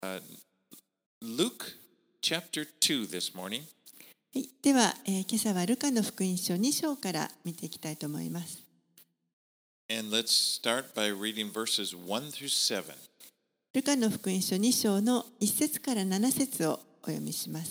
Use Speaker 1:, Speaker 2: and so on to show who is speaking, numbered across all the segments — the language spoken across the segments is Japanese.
Speaker 1: Uh, Luke chapter 2 this morning.
Speaker 2: はい、では、今朝はルカの福音書2章から見ていきたいと思います。
Speaker 1: And let's start by reading verses 1 through 7.
Speaker 2: ルカの福音書2章の1節から7節をお読みします。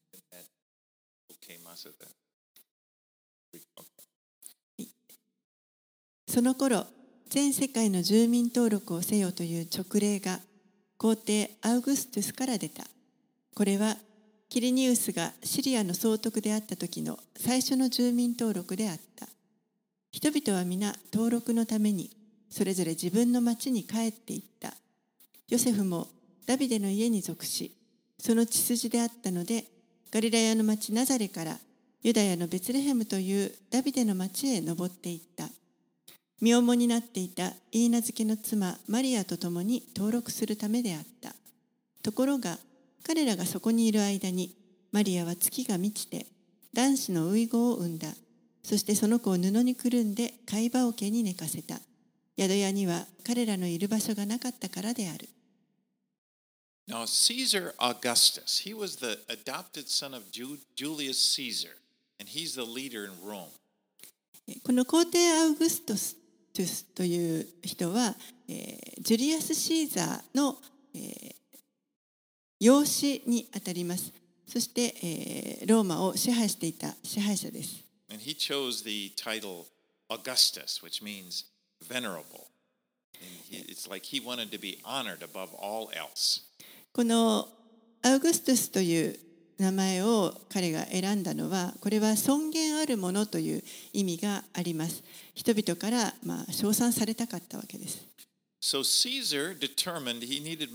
Speaker 2: その頃、全世界の住民登録をせよという勅令が皇帝アウグストゥスから出た。これはキリニウスがシリアの総督であった時の最初の住民登録であった。人々は皆登録のためにそれぞれ自分の町に帰っていった。ヨセフもダビデの家に属し、その血筋であったので、ガリラヤの町ナザレからユダヤのベツレヘムというダビデの町へ登っていった。身重になっていたイーナ漬けの妻マリアと共に登録するためであった。ところが彼らがそこにいる間にマリアは月が満ちて男子の遺子を産んだ。そしてその子を布にくるんで貝羽桶に寝かせた。宿屋には彼らのいる場所がなかったからである。
Speaker 1: Now Caesar Augustus, he was the adopted son of Julius Caesar, and he's the leader in Rome.
Speaker 2: この皇帝アウグストスという人は、ジュリアス・シーザーの、養子にあたります。そして、ローマを支配していた支配者です。
Speaker 1: And he chose the title Augustus, which means venerable. And it's like he wanted to be honored above all else.
Speaker 2: このアウグストゥスという名前を彼が選んだのは、これは尊厳あるものという意味があります。人々から称賛されたかったわけです。
Speaker 1: So Caesar determined he needed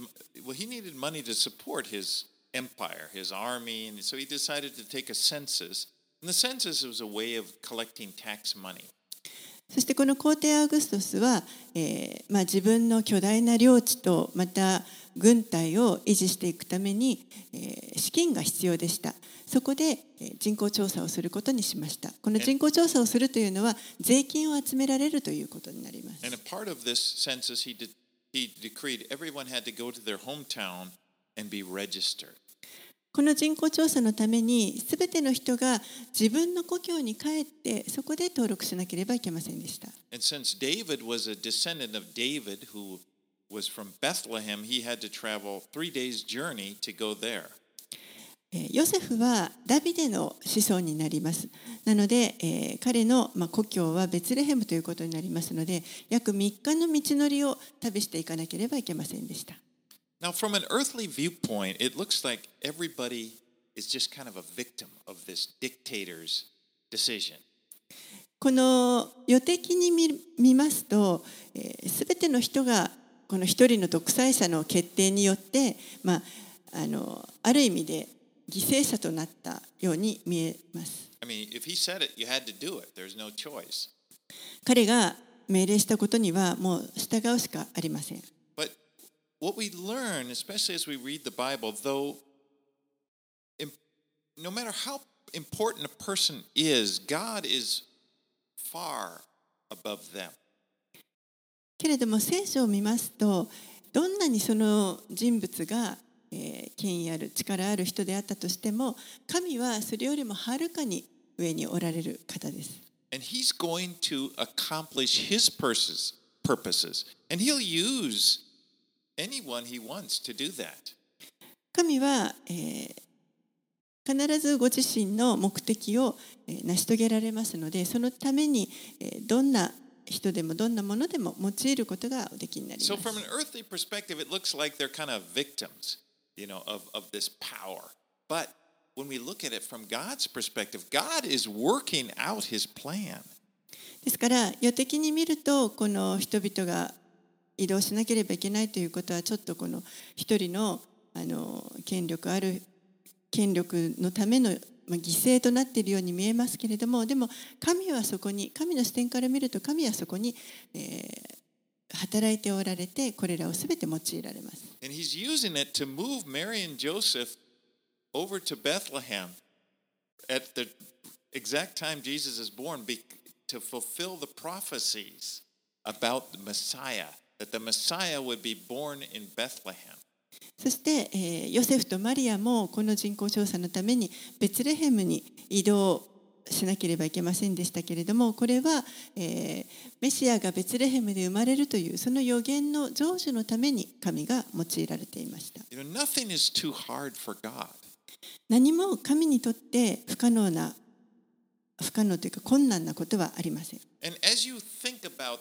Speaker 1: money to support his empire, his army, and so he decided to take a census. And the census was a way of collecting tax money.
Speaker 2: そしてこの皇帝アウグストスは、自分の巨大な領地とまた軍隊を維持していくために、資金が必要でした。そこで人口調査をすることにしました。この人口調査をするというのは税金を集められるということになります。
Speaker 1: And a part of this census, he decreed everyone had to go to their hometown and be registered.
Speaker 2: この人口調査のためにすべての人が自分の故郷に帰ってそこで登録しなければいけませんでした。
Speaker 1: And since David was a descendant of David who was from Bethlehem, he had to travel 3 days' journey to go there.
Speaker 2: ヨセフはダビデの子孫になります。なので、彼の故郷はベツレヘムということになりますので、約3日の道のりを旅していかなければいけませんでした。
Speaker 1: Now, from an earthly viewpoint, it looks like everybody is just kind of a victim of this dictator's decision.
Speaker 2: この予的に見ますと、すべての人がこの一人の独裁者の決定によって、ある意味で犠牲者となったように見えます。
Speaker 1: I mean, if he said it, you had to do it. There's no choice.
Speaker 2: 彼が命令したことにはもう従うしかありません。
Speaker 1: But what we learn, especially as we read the Bible, though, no matter how important a person is, God is far above them.
Speaker 2: けれども聖書を見ますと、どんなにその人物が権威ある力ある人であったとしても、神はそれよりもはるかに上におられる方です。
Speaker 1: And he's going to accomplish his purposes. And he'll use anyone he wants to do that.
Speaker 2: 神は、必ずご自身の目的を成し遂げられますので、そのためにどんな人でもどんなものでも用いることがおできになります。
Speaker 1: So from an earthly perspective, it looks like they're kind of victims, of this power. But when we look at it from God's perspective, God is working out his plan.
Speaker 2: ですから世的に見るとこの人々が移動しなければいけないということはちょっとこの一人の権力のための犠牲となっているように見えますけれども、でも神はそこに、神の視点から見ると神はそこに、働いておられて、これらをすべて用いられます。
Speaker 1: And he's using it to move Mary and Joseph over to Bethlehem at the exact time Jesus is born to fulfill the prophecies about the Messiah, that the Messiah would be born in Bethlehem.
Speaker 2: そして、ヨセフとマリアもこの人口調査のためにベツレヘムに移動しなければいけませんでしたけれども、これは、メシアがベツレヘムで生まれるというその予言の成就のために神が用いられていました。
Speaker 1: Nothing is too hard for God.
Speaker 2: 何も神にとって不可能というか困難なことはありません。
Speaker 1: And as you think about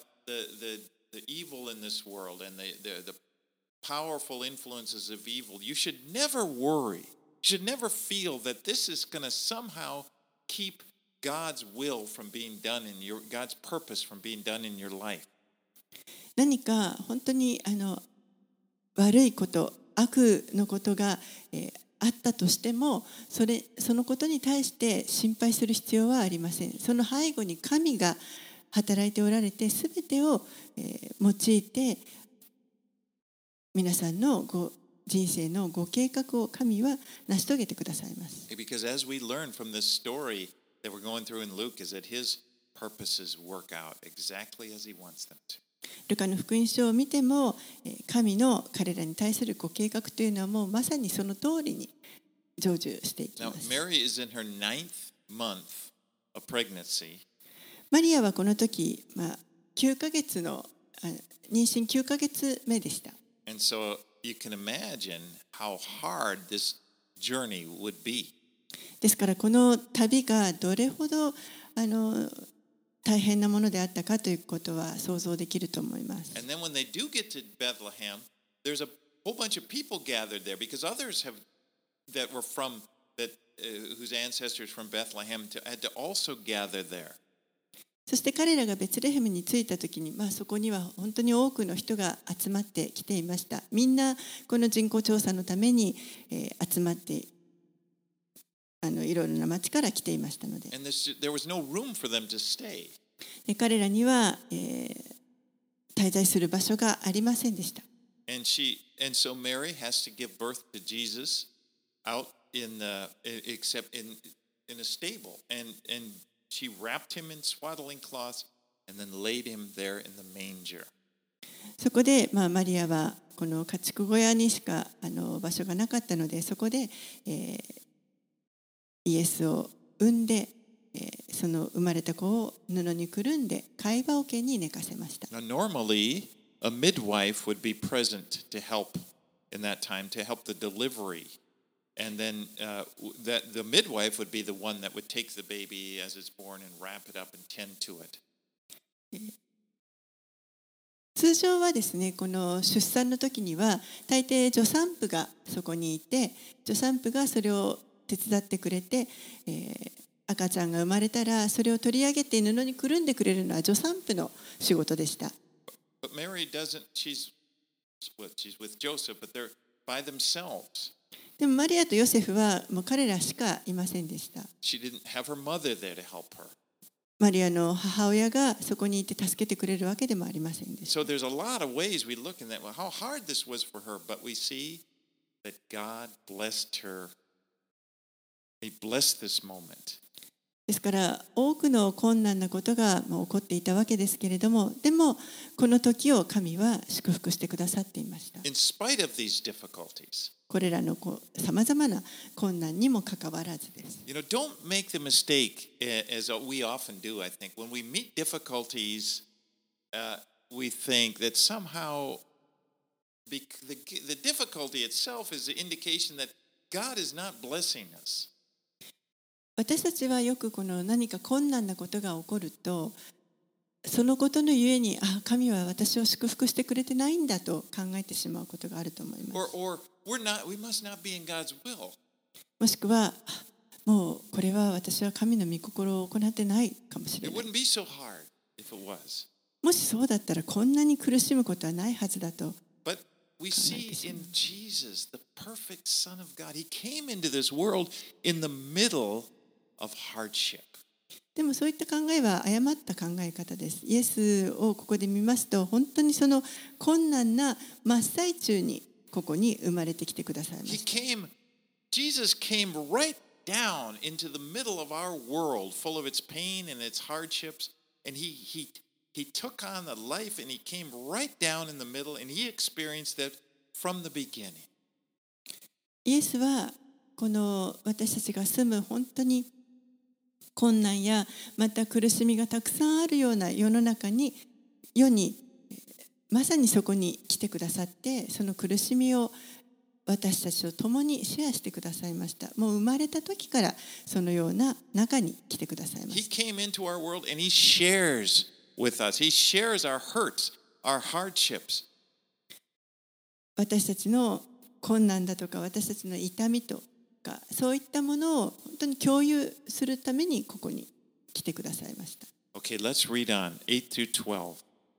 Speaker 1: the evil in this world and the powerful influences of evil, you should never worry. You should never feel that this is going to somehow keep God's will from being done in God's purpose from being done in your life.
Speaker 2: 何か本当に悪いこと、悪のことが、あったとしても、そのことに対して心配する必要はありません。その背後に神が働いておられて、すべてを、用いて皆さんの人生のご計画を神は成し遂げてくださいます。
Speaker 1: Because as we learn from this story that we're going through in Luke is that his purposes work out exactly as he wants them to.
Speaker 2: ルカの福音書を見ても、神の彼らに対するご計画というのはもうまさにその通りに成就していきます。
Speaker 1: Now, Mary is in her 9th month of pregnancy.
Speaker 2: マリアはこの時、9ヶ月の妊娠9ヶ月目でした。
Speaker 1: And so you can imagine how hard this journey would be.
Speaker 2: ですからこの旅がどれほど大変なものであったかということは想像できると思います。
Speaker 1: And then when they do get to Bethlehem, there's a whole bunch of people gathered there because others that were from whose ancestors from Bethlehem had to also gather there.
Speaker 2: そして彼らがベツレヘムに着いたときに、そこには本当に多くの人が集まってきていました。みんなこの人口調査のために、集まっていろいろな町から来ていましたので。
Speaker 1: And there was no room for them to stay.
Speaker 2: 彼らには、滞在する場所がありませんでした。
Speaker 1: And so Mary has to give birth to Jesus out in a stable, and she wrapped him in swaddling cloths and then laid him there in the manger.
Speaker 2: そこで、マリアはこの家畜小屋にしか場所がなかったので、そこで、イエスを産んで、その生まれた子を布にくるんで貝羽桶に寝かせました。
Speaker 1: Now, normally, a midwife would be present to help in that time, to help the delivery. And then that the midwife would be the one that would take the baby as it's born and wrap it up and tend to it.
Speaker 2: 通常はですね、この出産の時には大抵助産婦がそこにいて、助産婦がそれを手伝ってくれて、赤ちゃんが生まれたらそれを取り上げて布にくるんでくれるのは助産婦の仕事でした。
Speaker 1: But Mary doesn't. She's with Joseph, but they're by themselves.
Speaker 2: でもマリアとヨセフはもう彼らしかいませんでした。
Speaker 1: She didn't have her mother there to help her.
Speaker 2: マリアの母親がそこにいて助けてくれるわけでもありませんでした。
Speaker 1: So there's a lot of ways we look at that. Well, how hard this was for her, but we see that God blessed her. He blessed this moment.
Speaker 2: ですから多くの困難なことが起こっていたわけですけれども、でもこの時を神は祝福してくださっていました。
Speaker 1: In spite of these difficulties.
Speaker 2: これらのさまざまな困難にもかかわらずです。
Speaker 1: You know, don't make the mistake, as we often do, I think, when we meet difficulties, we think that somehow the difficulty itself is an indication that God is not blessing us.
Speaker 2: 私たちはよくこの何か困難なことが起こると、そのことのゆえに、神は私を祝福してくれてないんだと考えてしまうことがあると思います。
Speaker 1: Or we must not be in God's will.
Speaker 2: もしくは、もうこれは私は神の御心を行ってないかもしれ
Speaker 1: It
Speaker 2: ない。
Speaker 1: wouldn't be so hard if it was.
Speaker 2: もしそうだったらこんなに苦しむことはないはずだと。
Speaker 1: But we see in Jesus, the perfect Son of God, He came into this world in the middle of hardship.
Speaker 2: でもそういった考えは誤った考え方です。イエスをここで見ますと、本当にその困難な真っ最中にここに生まれてきてくださいました。
Speaker 1: Jesus came right down into the middle of our world, full of its pain and its hardships, and he took on the life and he came right down in the middle and he experienced that from the beginning.
Speaker 2: イエスはこの私たちが住む本当に困難やまた苦しみがたくさんあるような世の中に世にまさにそこに来てくださって、その苦しみを私たちと共にシェアしてくださいました。もう生まれた時からそのような中に来てくださいま
Speaker 1: He
Speaker 2: した。
Speaker 1: came into our world and he shares with us. He shares our hurts, our hardships.
Speaker 2: 私たちの困難だとか私たちの痛みとかそういったものを本当に共有するためにここに来てくださいました。
Speaker 1: Okay, let's read on 8 through 12.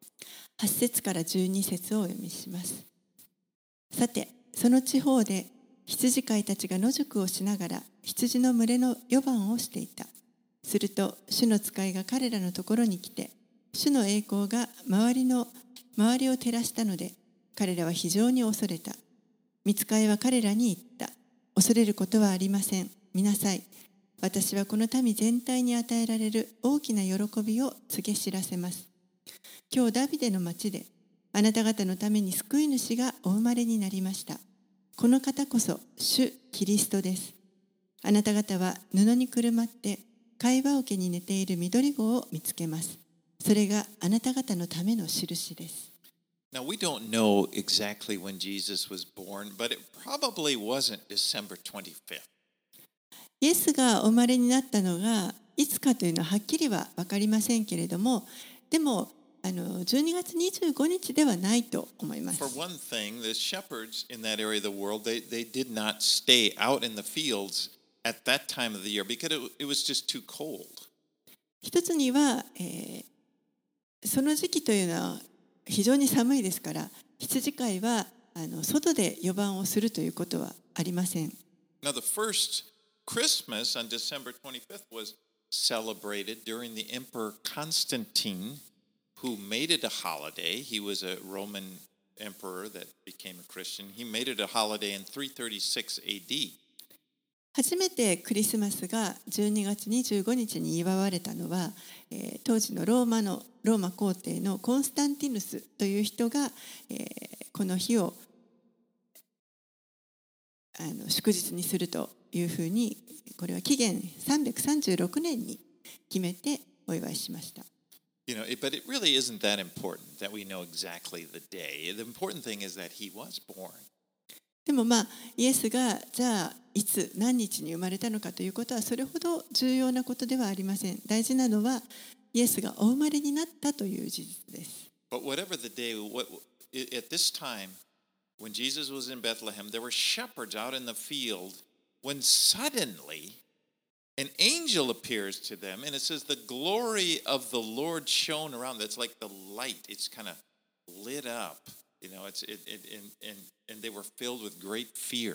Speaker 2: 8節から12節をお読みします。さて、その地方で羊飼いたちが野宿をしながら羊の群れの予番をしていた。すると主の使いが彼らのところに来て、主の栄光が周りを照らしたので、彼らは非常に恐れた。御使いは彼らに言った。恐れることはありません。見なさい。私はこの民全体に与えられる大きな喜びを告げ知らせます。今日ダビデの町であなた方のために救い主がお生まれになりました。この方こそ主キリストです。あなた方は布にくるまって貝羽桶に寝ている緑子を見つけます。それがあなた方のための印です。
Speaker 1: Now, we don't know exactly when Jesus was born, but it probably wasn't December 25th.
Speaker 2: イエスがお生まれになったのがいつかというのははっきりは分かりませんけれども、でも12月25日ではないと思います。
Speaker 1: For one thing, the shepherds in that area of the world, they did not stay out in the fields at that time of the year because it was just too cold.
Speaker 2: 一つには、その時期というのは非常に寒いですから、羊飼いは外で予番をするということはありません。
Speaker 1: Now, the first Christmas on December 25th was celebrated during the Emperor Constantine, who made it a holiday. He was a Roman emperor that became a Christian. He made it a holiday in 336 AD.
Speaker 2: 初めてクリスマスが12月25日に祝われたのは、当時のローマ皇帝のコンスタンティヌスという人が、この日を祝日にするというふうに、これは紀元336年に決めてお祝いしました。
Speaker 1: You know, but it really isn't that important that we know exactly the day. The important thing is that he was born.
Speaker 2: でもイエスがじゃあいつ何日に生まれたのかということはそれほど重要なことではありません。大事なのはイエスがお生まれになったという事実です。
Speaker 1: But whatever the day, at this time, when Jesus was in Bethlehem, there were shepherds out in the field when suddenly an angel appears to them, and it says the glory of the Lord shone around. That's like the light. It's kind of lit up. You know, and they were filled with great fear.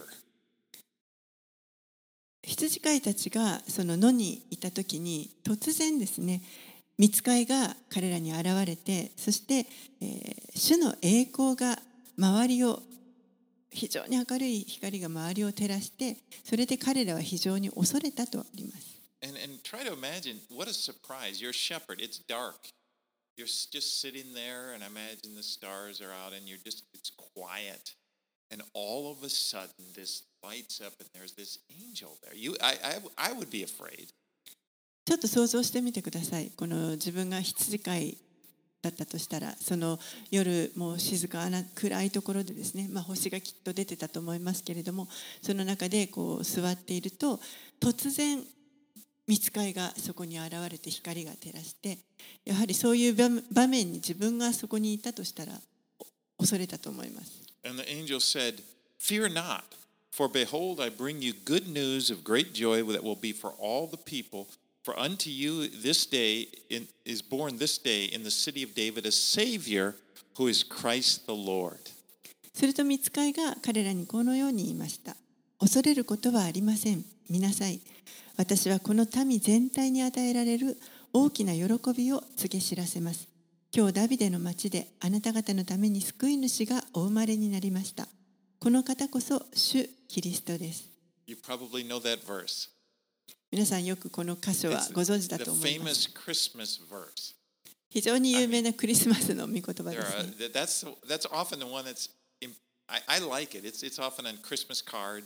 Speaker 2: 羊飼いたちがその野にいた時に突然ですね、御使いが彼らに現れて、そして、主の栄光が周りを非常に明るい光が周りを照らして、それで彼らは非常に恐れたとあります。
Speaker 1: And try to imagine what a surprise. You're a shepherd. It's dark. You're just sitting there, and imagine the stars are out, and it's quiet. And all of a sudden, this lights up, and there's this angel there. I would be afraid.
Speaker 2: ちょっと想像してみてください。この自分が羊飼いだったとしたら、その夜もう静かな暗いところでですね、星がきっと出てたと思いますけれども、その中でこう座っていると突然御使いがそこに現れて光が照らして、やはりそういう場面に自分がそこにいたとしたら恐れたと思います。
Speaker 1: And the angel said, "Fear not, for behold, I bring you good news of great joy that will be for all the people. For unto you this day is born this day in the city of David a Savior who is Christ the Lord."
Speaker 2: すると御使いが彼らにこのように言いました。恐れることはありません。見なさい。私はこの民全体に与えられる大きな喜びを告げ知らせます。今日ダビデの町であなた方のために救い主がお生まれになりました。この方こそ主キリストです。
Speaker 1: You probably know that verse.
Speaker 2: 皆さんよくこの箇所はご存知だと思います。
Speaker 1: The famous Christmas verse.
Speaker 2: 非常に有名なクリスマスの御言葉ですね。
Speaker 1: That's often the one that's I like it. It's often on Christmas cards.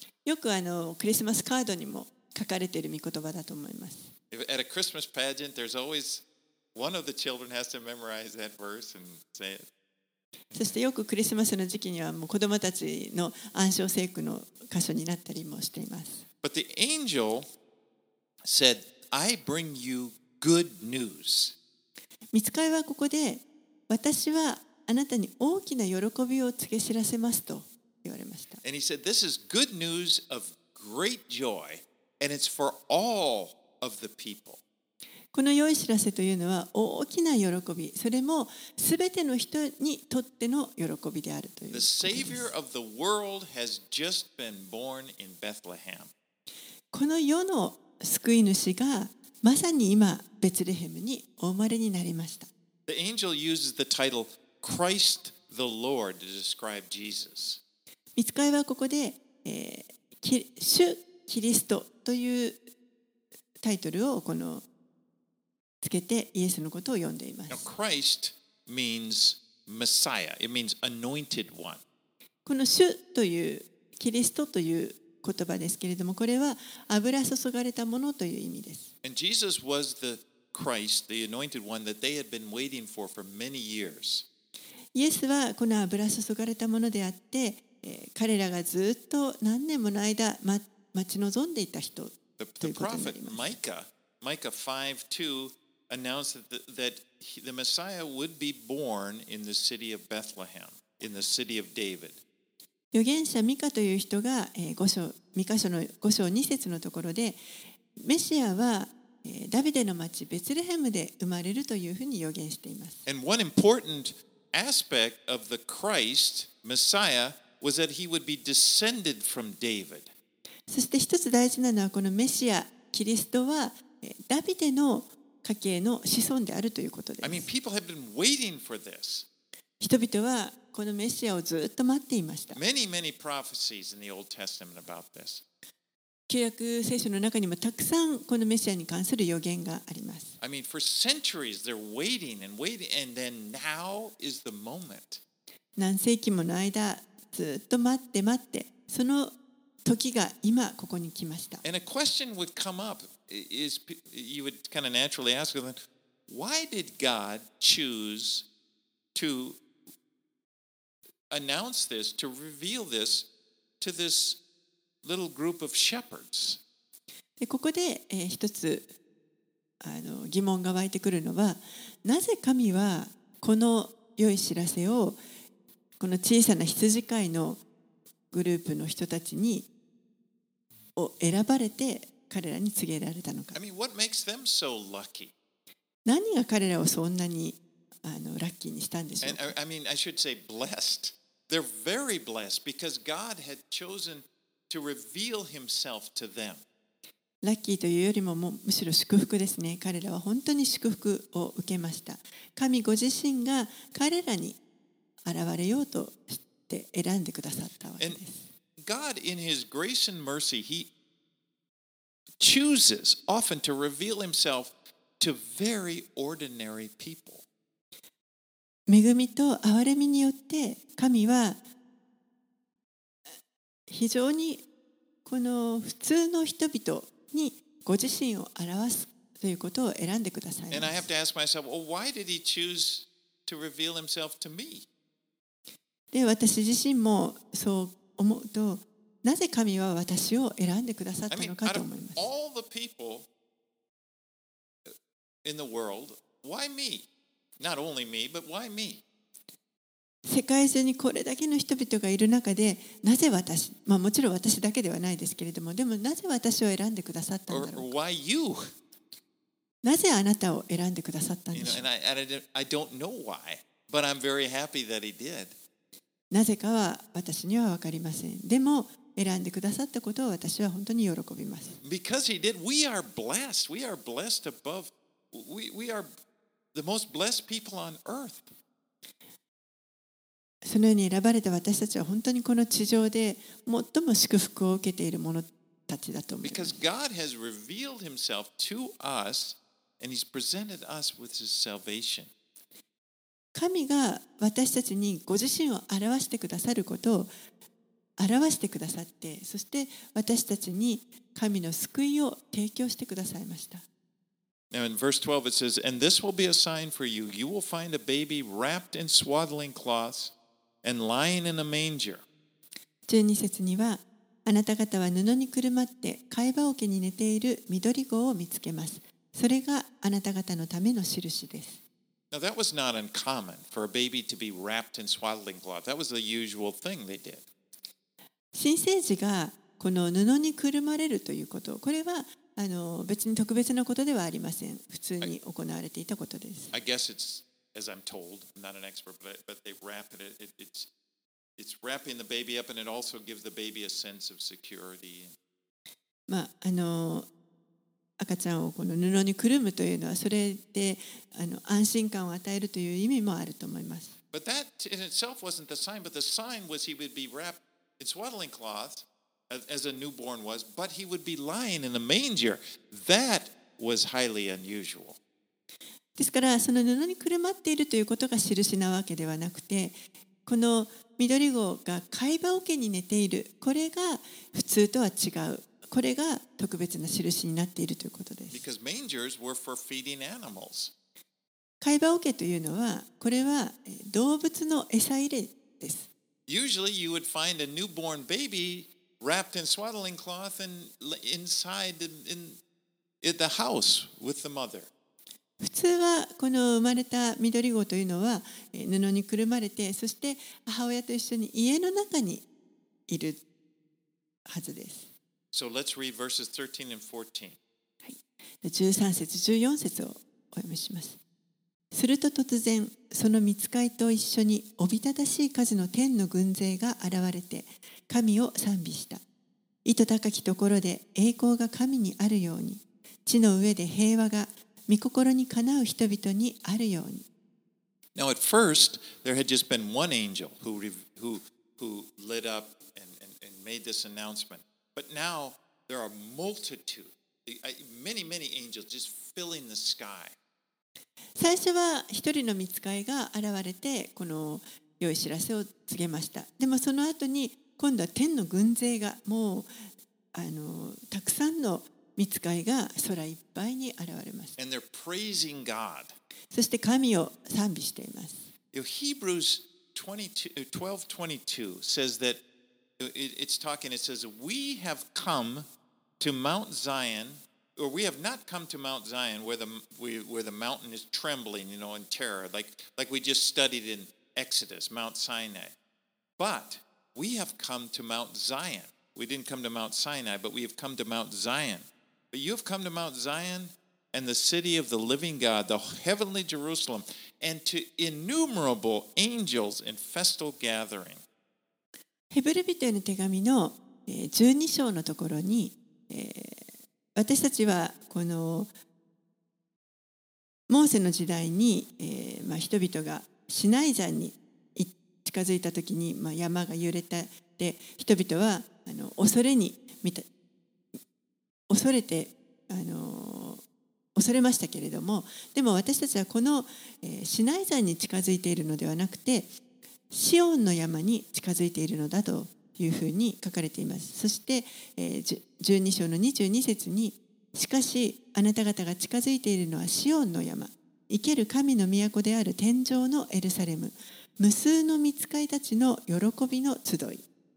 Speaker 2: よくクリスマスカードにも書かれている御言葉だと思います。
Speaker 1: At a Christmas pageant, there's always one of the children has to memorize that verse and say it.
Speaker 2: そしてよくクリスマスの時期にはもう子どもたちの暗唱聖句の箇所になったりもしています。
Speaker 1: But the angel said, I bring you good news.
Speaker 2: 御使いはここで、私はあなたに大きな喜びを告げ知らせますと言われました。
Speaker 1: And he said, This is good news of great joy, and it's for all of the people.
Speaker 2: この良い知らせというのは大きな喜び、それもすべての人にとっての喜びであるということで
Speaker 1: The
Speaker 2: す。
Speaker 1: Savior of the world has just been born in Bethlehem.
Speaker 2: この世の救い主がまさに今ベツレヘムにお生まれになりました。
Speaker 1: The angel uses the title Christ the Lord to describe Jesus.
Speaker 2: 御使いはここで、主キリストというタイトルをつけてイエスのことを呼んでいま
Speaker 1: Now,
Speaker 2: す。
Speaker 1: Christ means Messiah. It means anointed one.
Speaker 2: この主というキリストという言葉ですけれども、これは油注がれたものという意味です。
Speaker 1: And Jesus was the Christ, the anointed one that they had been waiting for many years.
Speaker 2: イエスはこの油注がれたものであって、彼らがずっと何年もの間待ち望んでいた人とい
Speaker 1: The
Speaker 2: うことにな
Speaker 1: prophet
Speaker 2: ります。
Speaker 1: Micah 5:2 announced that the Messiah would be born in the city of Bethlehem, in the city of David.
Speaker 2: 預言者ミカという人がミカ書の5章2節のところで、メシアはダビデの町ベツレヘムで生まれるというふうに預言しています。
Speaker 1: And one important aspect of the Christ, Messiah, was that he would be descended from David.
Speaker 2: そして一つ大事なのは、このメシアキリストはダビデの家系の子孫であるということで
Speaker 1: I
Speaker 2: す。
Speaker 1: mean, people have been waiting for this.
Speaker 2: 人々はこのメシアをずっと待っていました。
Speaker 1: Many prophecies in the Old Testament about this.
Speaker 2: 旧約聖書の中にもたくさんこのメシアに関する予言があります。
Speaker 1: I mean, for centuries they're waiting, and then now is the moment.
Speaker 2: 何世紀もの間ずっと待ってその時が今ここに来ました。
Speaker 1: And a question would come up is you would kind of naturally ask them, why did God choose to announce this, to reveal this to this little group of shepherds?
Speaker 2: でここで、一つ疑問が湧いてくるのは、なぜ神はこの良い知らせをこの小さな羊飼いのグループの人たちを選ばれて彼らに告げられたのか。
Speaker 1: I mean, what makes them so lucky?
Speaker 2: 何が彼らをそんなにラッキーにしたんでしょう
Speaker 1: And
Speaker 2: か。
Speaker 1: I mean, I should say blessed. They're very blessed because God had chosen to reveal himself to them.
Speaker 2: ラッキーというよりもむしろ祝福ですね。彼らは本当に祝福を受けました。神ご自身が彼らに現れようとして選んでくださったわけ
Speaker 1: And
Speaker 2: です。
Speaker 1: God, in his grace and mercy, he chooses often to reveal himself to very ordinary people.
Speaker 2: 恵みと憐れみによって神は非常にこの普通の人々にご自身を表すということを選んでくださいま
Speaker 1: And I
Speaker 2: す。
Speaker 1: have to ask myself, well, why did he choose to reveal himself to me?
Speaker 2: で、私自身もそう思うと、なぜ神は私を選んでくださっ
Speaker 1: I
Speaker 2: た
Speaker 1: mean,
Speaker 2: のか
Speaker 1: out
Speaker 2: と
Speaker 1: of
Speaker 2: 思います。
Speaker 1: all the people in the world, why me? Not only me, but why me?
Speaker 2: 世界中にこれだけの人々がいる中で、なぜ私、もちろん私だけではないですけれども、でもなぜ私を選んでくださったん
Speaker 1: Or,
Speaker 2: だろう
Speaker 1: or
Speaker 2: か。
Speaker 1: why you?
Speaker 2: なぜあなたを選んでくださったん
Speaker 1: You
Speaker 2: で
Speaker 1: know,
Speaker 2: しょう。
Speaker 1: and I don't know why, but I'm very happy that he did.
Speaker 2: なぜかは私には分かりません。でも選んでくださったことを私は本当に喜びます。
Speaker 1: Because he did, we are blessed. We are blessed above. We are the most blessed people on earth.
Speaker 2: そのように選ばれた私たちは本当にこの地上で最も祝福を受けている者たちだと思います。
Speaker 1: Because God has revealed himself to us and he's presented us with his salvation.
Speaker 2: 神が私たちにご自身を表してくださることを表してくださって、そして私たちに神の救いを提供してくださいました。
Speaker 1: Now in verse 12 it says, "And this will be a sign for you. You will find a baby wrapped in swaddling cloths and lying in a manger."
Speaker 2: 12節には、あなた方は布にくるまって貝羽桶に寝ている緑子を見つけます。それがあなた方のための印です。
Speaker 1: Now that was not uncommon for a baby to be wrapped in swaddling cloth. That was the usual thing they did.
Speaker 2: 新生児がこの布にくるまれるということ、これは別に特別なことではありません。普通に行われていたことです。
Speaker 1: I guess it's, as I'm told, I'm not an expert, but they wrap it's wrapping the baby up, and it also gives the baby a sense of security.
Speaker 2: 赤ちゃんをこの布にくるむというのは、それで安心感を与えるという意味もあると思います。
Speaker 1: But that in itself wasn't the sign, but the sign was he would be wrapped in swaddling cloths as a newborn was, but he would be lying in a manger. That was highly unusual.
Speaker 2: ですから、その布にくるまっているということが印なわけではなくて、この緑子が貝羽桶に寝ている、これが普通とは違う。これが特別な印になっているということです。
Speaker 1: Because mangers were for feeding animals.
Speaker 2: 貝羽桶というのは、これは動物の餌入れです。
Speaker 1: Usually you would find a newborn baby wrapped in swaddling cloth and inside in the house with the mother.
Speaker 2: 普通はこの生まれた緑子というのは布にくるまれて、そして母親と一緒に家の中にいるはずです。
Speaker 1: So let's read verses 13 and 14.
Speaker 2: 13節14節をお読みします。すると突然、その御使いと一緒におびただしい数の天の軍勢が現れて、神を賛美した。意図高きところで栄光が神にあるように、地の上で平和が御心にかなう人々にあるように。
Speaker 1: Now at first, there had just been one angel who lit up and made this announcement. But now there are multitude, many angels just filling the sky.
Speaker 2: 最初は一人の御使いが現れて、この良い知らせを告げました。でもその後に今度は天の軍勢がもうたくさんの御使いが空いっぱいに現れます。
Speaker 1: And they're praising God.
Speaker 2: そして神を賛美しています。
Speaker 1: Hebrews 12:22 says that it's talking, it says, "We have come to Mount Zion," or "we have not come to Mount Zion where the mountain is trembling, in terror, like we just studied in Exodus, Mount Sinai. But we have come to Mount Zion. We didn't come to Mount Sinai, but we have come to Mount Zion. But you have come to Mount Zion and the city of the living God, the heavenly Jerusalem, and to innumerable angels in festal gathering."
Speaker 2: ヘブル人への手紙の12章のところに、私たちはこのモーセの時代に、人々がシナイ山に近づいた時に、山が揺れて人々は恐れましたけれども、でも私たちはこのシナイ山に近づいているのではなくて、シオンの山に近づいているのだというふうに書かれています。そして12章の22節に、しかしあなた方が近づいているのはシオンの山、生ける神の都である天上のエルサレム、無数の御使いたちの喜びの集い。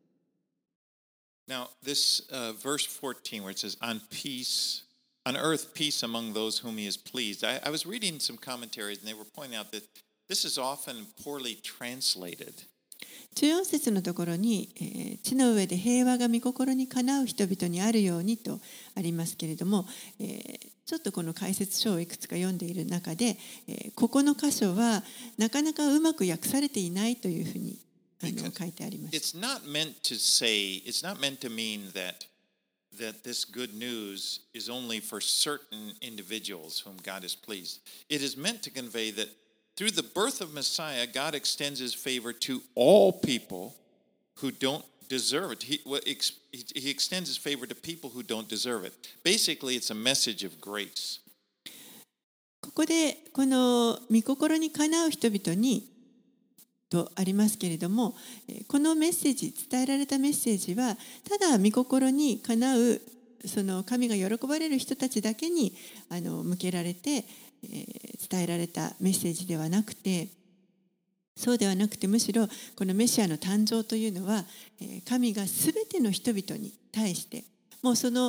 Speaker 1: Now this verse 14 where it says on earth peace among those whom he is pleased. I was reading some commentaries and they were pointing out that this is often poorly translated.
Speaker 2: 14節のところに、地の上で平和が御心にかなう人々にあるようにとありますけれども、ちょっとこの解説書をいくつか読んでいる中で、ここの箇所はなかなかうまく訳されていないというふうに書いてあります。
Speaker 1: It's not meant to mean that this good news is only for certain individuals whom God is pleased. It is meant to convey that through the birth of Messiah, God extends his favor to all people who don't deserve it. He extends his favor to people who don't deserve it. Basically, it's a message of grace.
Speaker 2: ここでこの御心にかなう人々にとありますけれども、このメッセージ、伝えられたメッセージはただ御心にかなうその神が喜ばれる人たちだけに向けられて、伝えられたメッセージではなくて、そうではなくてむしろこのメシアの誕生というのは、神がすべての人々に対してもうその、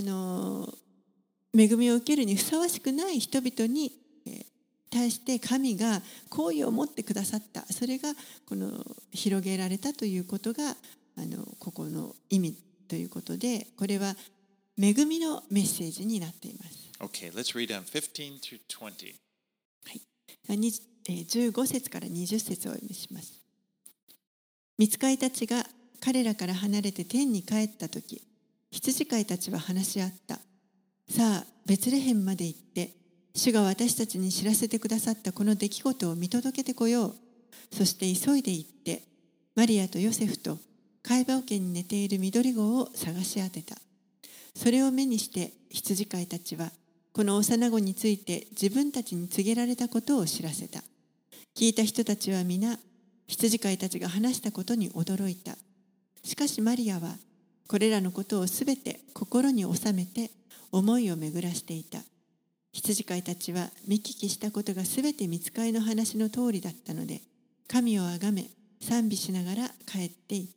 Speaker 2: 恵みを受けるにふさわしくない人々に対して神が好意を持ってくださった、それがこの広げられたということがここの意味ということで、これは恵みのメッセージになっています。
Speaker 1: Okay, let's read on 15 through 20.
Speaker 2: はい、15節から20節をお読みします。御使いたちが彼らから離れて天に帰ったとき、羊飼いたちは話し合った。さあ、ベツレヘムまで行って、主が私たちに知らせてくださったこの出来事を見届けてこよう。そして急いで行って、マリアとヨセフと貝羽桶に寝ている緑子を探し当てた。それを目にして羊飼いたちは、この幼子について自分たちに告げられたことを知らせた。聞いた人たちは皆、羊飼いたちが話したことに驚いた。しかしマリアは、これらのことをすべて心に収めて思いを巡らしていた。羊飼いたちは見聞きしたことがすべて御使いの話の通りだったので、神をあがめ、賛美しながら帰っていった。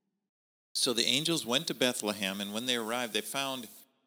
Speaker 1: So the angels went to Bethlehem, and when they arrived, they found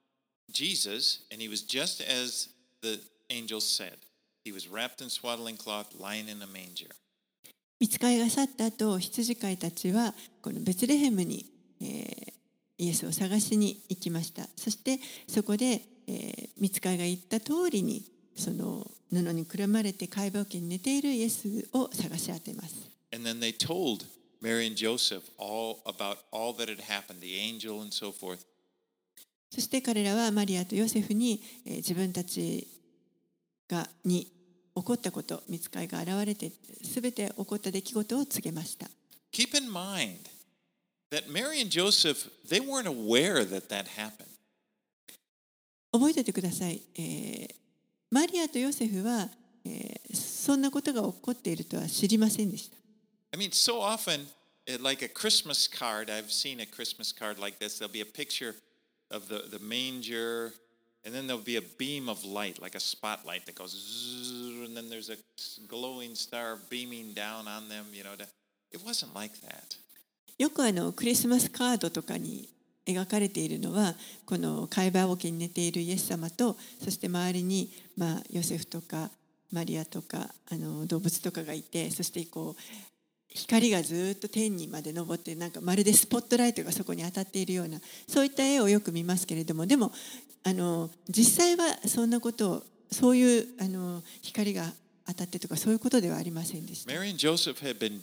Speaker 1: Jesus, and he was just as the angels said. He was wrapped in swaddling cloth, lying in a manger.
Speaker 2: 御使いが去った後、羊飼いたちはこのベツレヘムに、イエスを探しに行きました。そしてそこで、御使いが言った通りにその布にくるまれて貝羽桶に寝ているイエスを探し当てます。
Speaker 1: And then they told Mary and Joseph all about all that had happened, the angel and so forth.
Speaker 2: そして彼らはマリアとヨセフに、自分たちに起こったこと、御使いが現れてすべて起こった出来事を告げました。
Speaker 1: Keep in mind that Mary and Joseph, they weren't aware that that happened.
Speaker 2: 覚えておいてください。マリアとヨセフは、そんなことが起こっているとは知りませんでした。
Speaker 1: I mean, so often, like a Christmas card, I've seen a Christmas card like this. There'll be a picture of the manger, and then there'll be a beam of light, like a spotlight that goes, zzz, and then there's a glowing star beaming down on them. It wasn't like that.
Speaker 2: よくクリスマスカードとかに描かれているのは、この貝羽桶に寝ているイエス様と、そして周りに、ヨセフとかマリアとか動物とかがいて、そしてこう光がずっと天にまで昇って、なんかまるでスポットライトがそこに当たっているような、そういった絵をよく見ますけれども、でも実際はそんなことを、そういう光が当たってとかそういうことではありませんでした。
Speaker 1: Mary and Joseph had been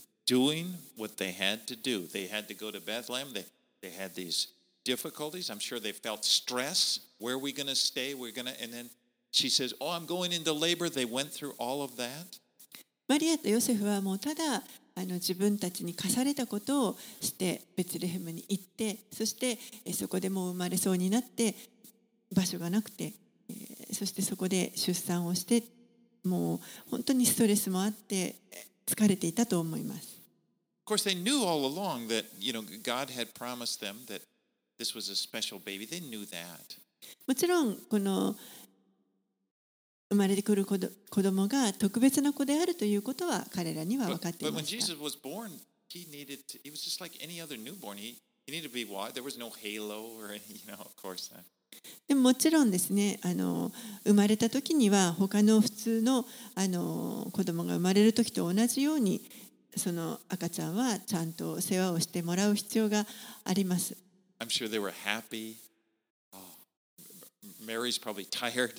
Speaker 1: doing what they had to do. They had to go to Bethlehem. They had these difficulties. I'm sure they felt stress. Where are we going to stay? And then she says, "Oh, I'm going into labor." They went through all of that.
Speaker 2: マリアとヨセフはもうただ自分たちに課されたことをしてベツレヘムに行って、そしてそこでもう生まれそうになって場所がなくて、そしてそこで出産をして、もう本当にストレスもあって疲れていたと思います。
Speaker 1: Of course, they knew all along that God had promised them that this was a special baby. They knew that.
Speaker 2: もちろんこの生まれてくる子供が特別な子であるということは彼らには分かってい
Speaker 1: But
Speaker 2: ま
Speaker 1: when
Speaker 2: した。
Speaker 1: Jesus was born, he was just like any other newborn. He needed to be wise. There was no halo or of course.
Speaker 2: でももちろんですね、生まれた時には他の普通の子供が生まれる時と同じように、その赤ちゃんはちゃんと世話をしてもらう必要があります。
Speaker 1: I'm sure they were happy. Oh, Mary's probably tired.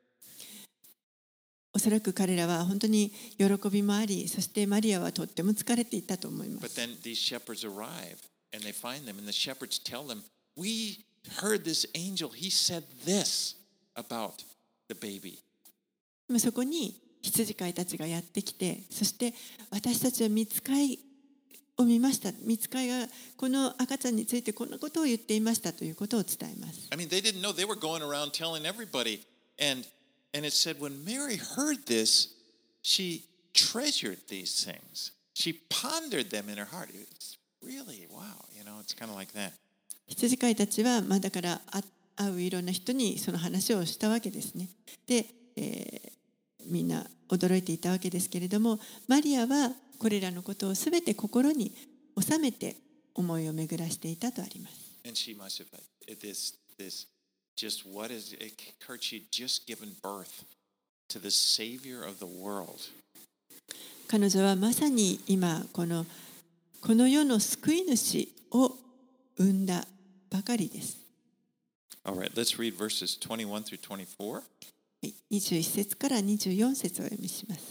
Speaker 2: おそらく彼らは本当に喜びもあり、そしてマリアはとっても疲れていたと思いま
Speaker 1: But
Speaker 2: す。
Speaker 1: then these shepherds arrive and they find them, and the shepherds tell them, "We heard this angel. He said this about the baby."
Speaker 2: でもそこに羊飼いたちがやってきて、そして私たちは御使いを見ました。御使いがこの赤ちゃんについてこんなことを言っていましたということを伝えます。
Speaker 1: I mean, they didn't know. They were going around telling everybody. And it said when Mary heard this, she treasured these things. She pondered them in her heart. It's really, wow, it's kind of like that.
Speaker 2: 羊飼いたちは、だから会ういろんな人にその話をしたわけですね。で、みんな驚いていたわけですけれども、マリアはこれらのことをすべて心に収めて思いを巡らしていたとあります。
Speaker 1: And she must have this just what is it occurred? She had just given birth to the Savior of the world.
Speaker 2: 彼女はまさに今この世の救い主を生んだばかりです。
Speaker 1: All right, let's read verses 21 through 24.
Speaker 2: 21節から24節をお読みします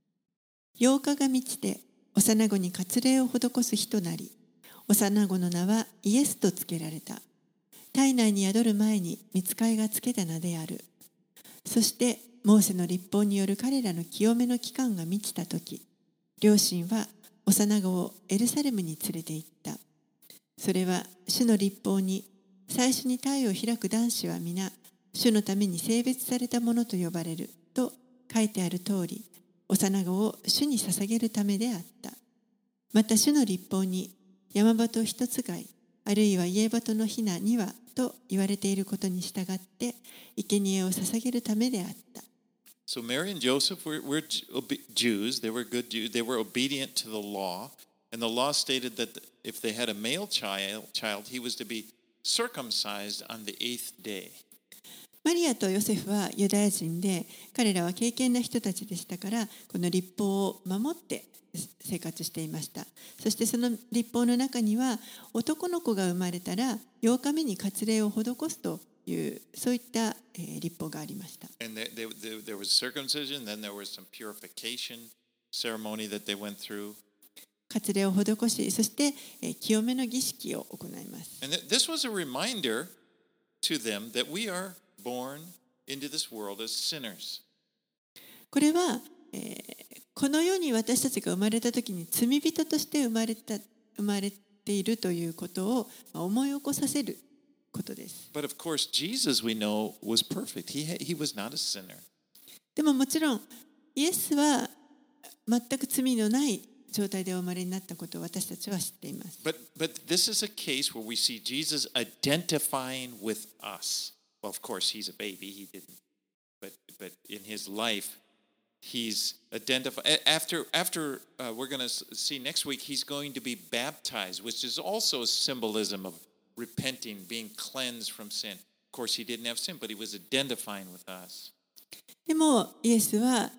Speaker 2: 。8日が満ちて幼子に割礼を施す日となり、幼子の名はイエスとつけられた。体内に宿る前に御使いがつけた名である。そしてモーセの律法による彼らの清めの期間が満ちたとき、両親は幼子をエルサレムに連れて行った。それは主の律法に最初に体を開く男子は皆主のために性別されたものと呼ばれると書いてある通り、幼子を主に捧げるためであった。また主の律法に山鳩一つ貝あるいは家鳩のひな2羽と言われていることに従って生贄を捧げるためであった。
Speaker 1: So Mary and Joseph were Jews. They were good Jews. They were obedient to the law. And the law stated that if they had a male child, he was to be circumcised on the 8th day.
Speaker 2: マリアとヨセフはユダヤ人で、彼らは敬虔な人たちでしたから、この律法を守って生活していました。そしてその律法の中には、男の子が生まれたら8日目に割礼を施すというそういった律法がありました。
Speaker 1: And there was circumcision, then there was some purification ceremony that they went through.
Speaker 2: 割礼を施し、そして清めの儀式を行います。
Speaker 1: And this was a reminder to them that we are born into this world as sinners.
Speaker 2: これは、この世に私たちが生まれた時に罪人として生まれているということを思い起こさせることです。
Speaker 1: But of course, Jesus, we know, was perfect. He was not a sinner.
Speaker 2: でももちろん、イエスは全く罪のない状態でお生まれになったことを私たちは知っています。
Speaker 1: But this is a case where we see Jesus identifying with us. Well, of course, he's a baby. He didn't. But in his life, he's identified. After we're going to see next week, he's going to be baptized, which is also a symbolism of repenting, being cleansed from sin. Of course, he didn't have sin, but he was identifying with us.
Speaker 2: でもイエスは、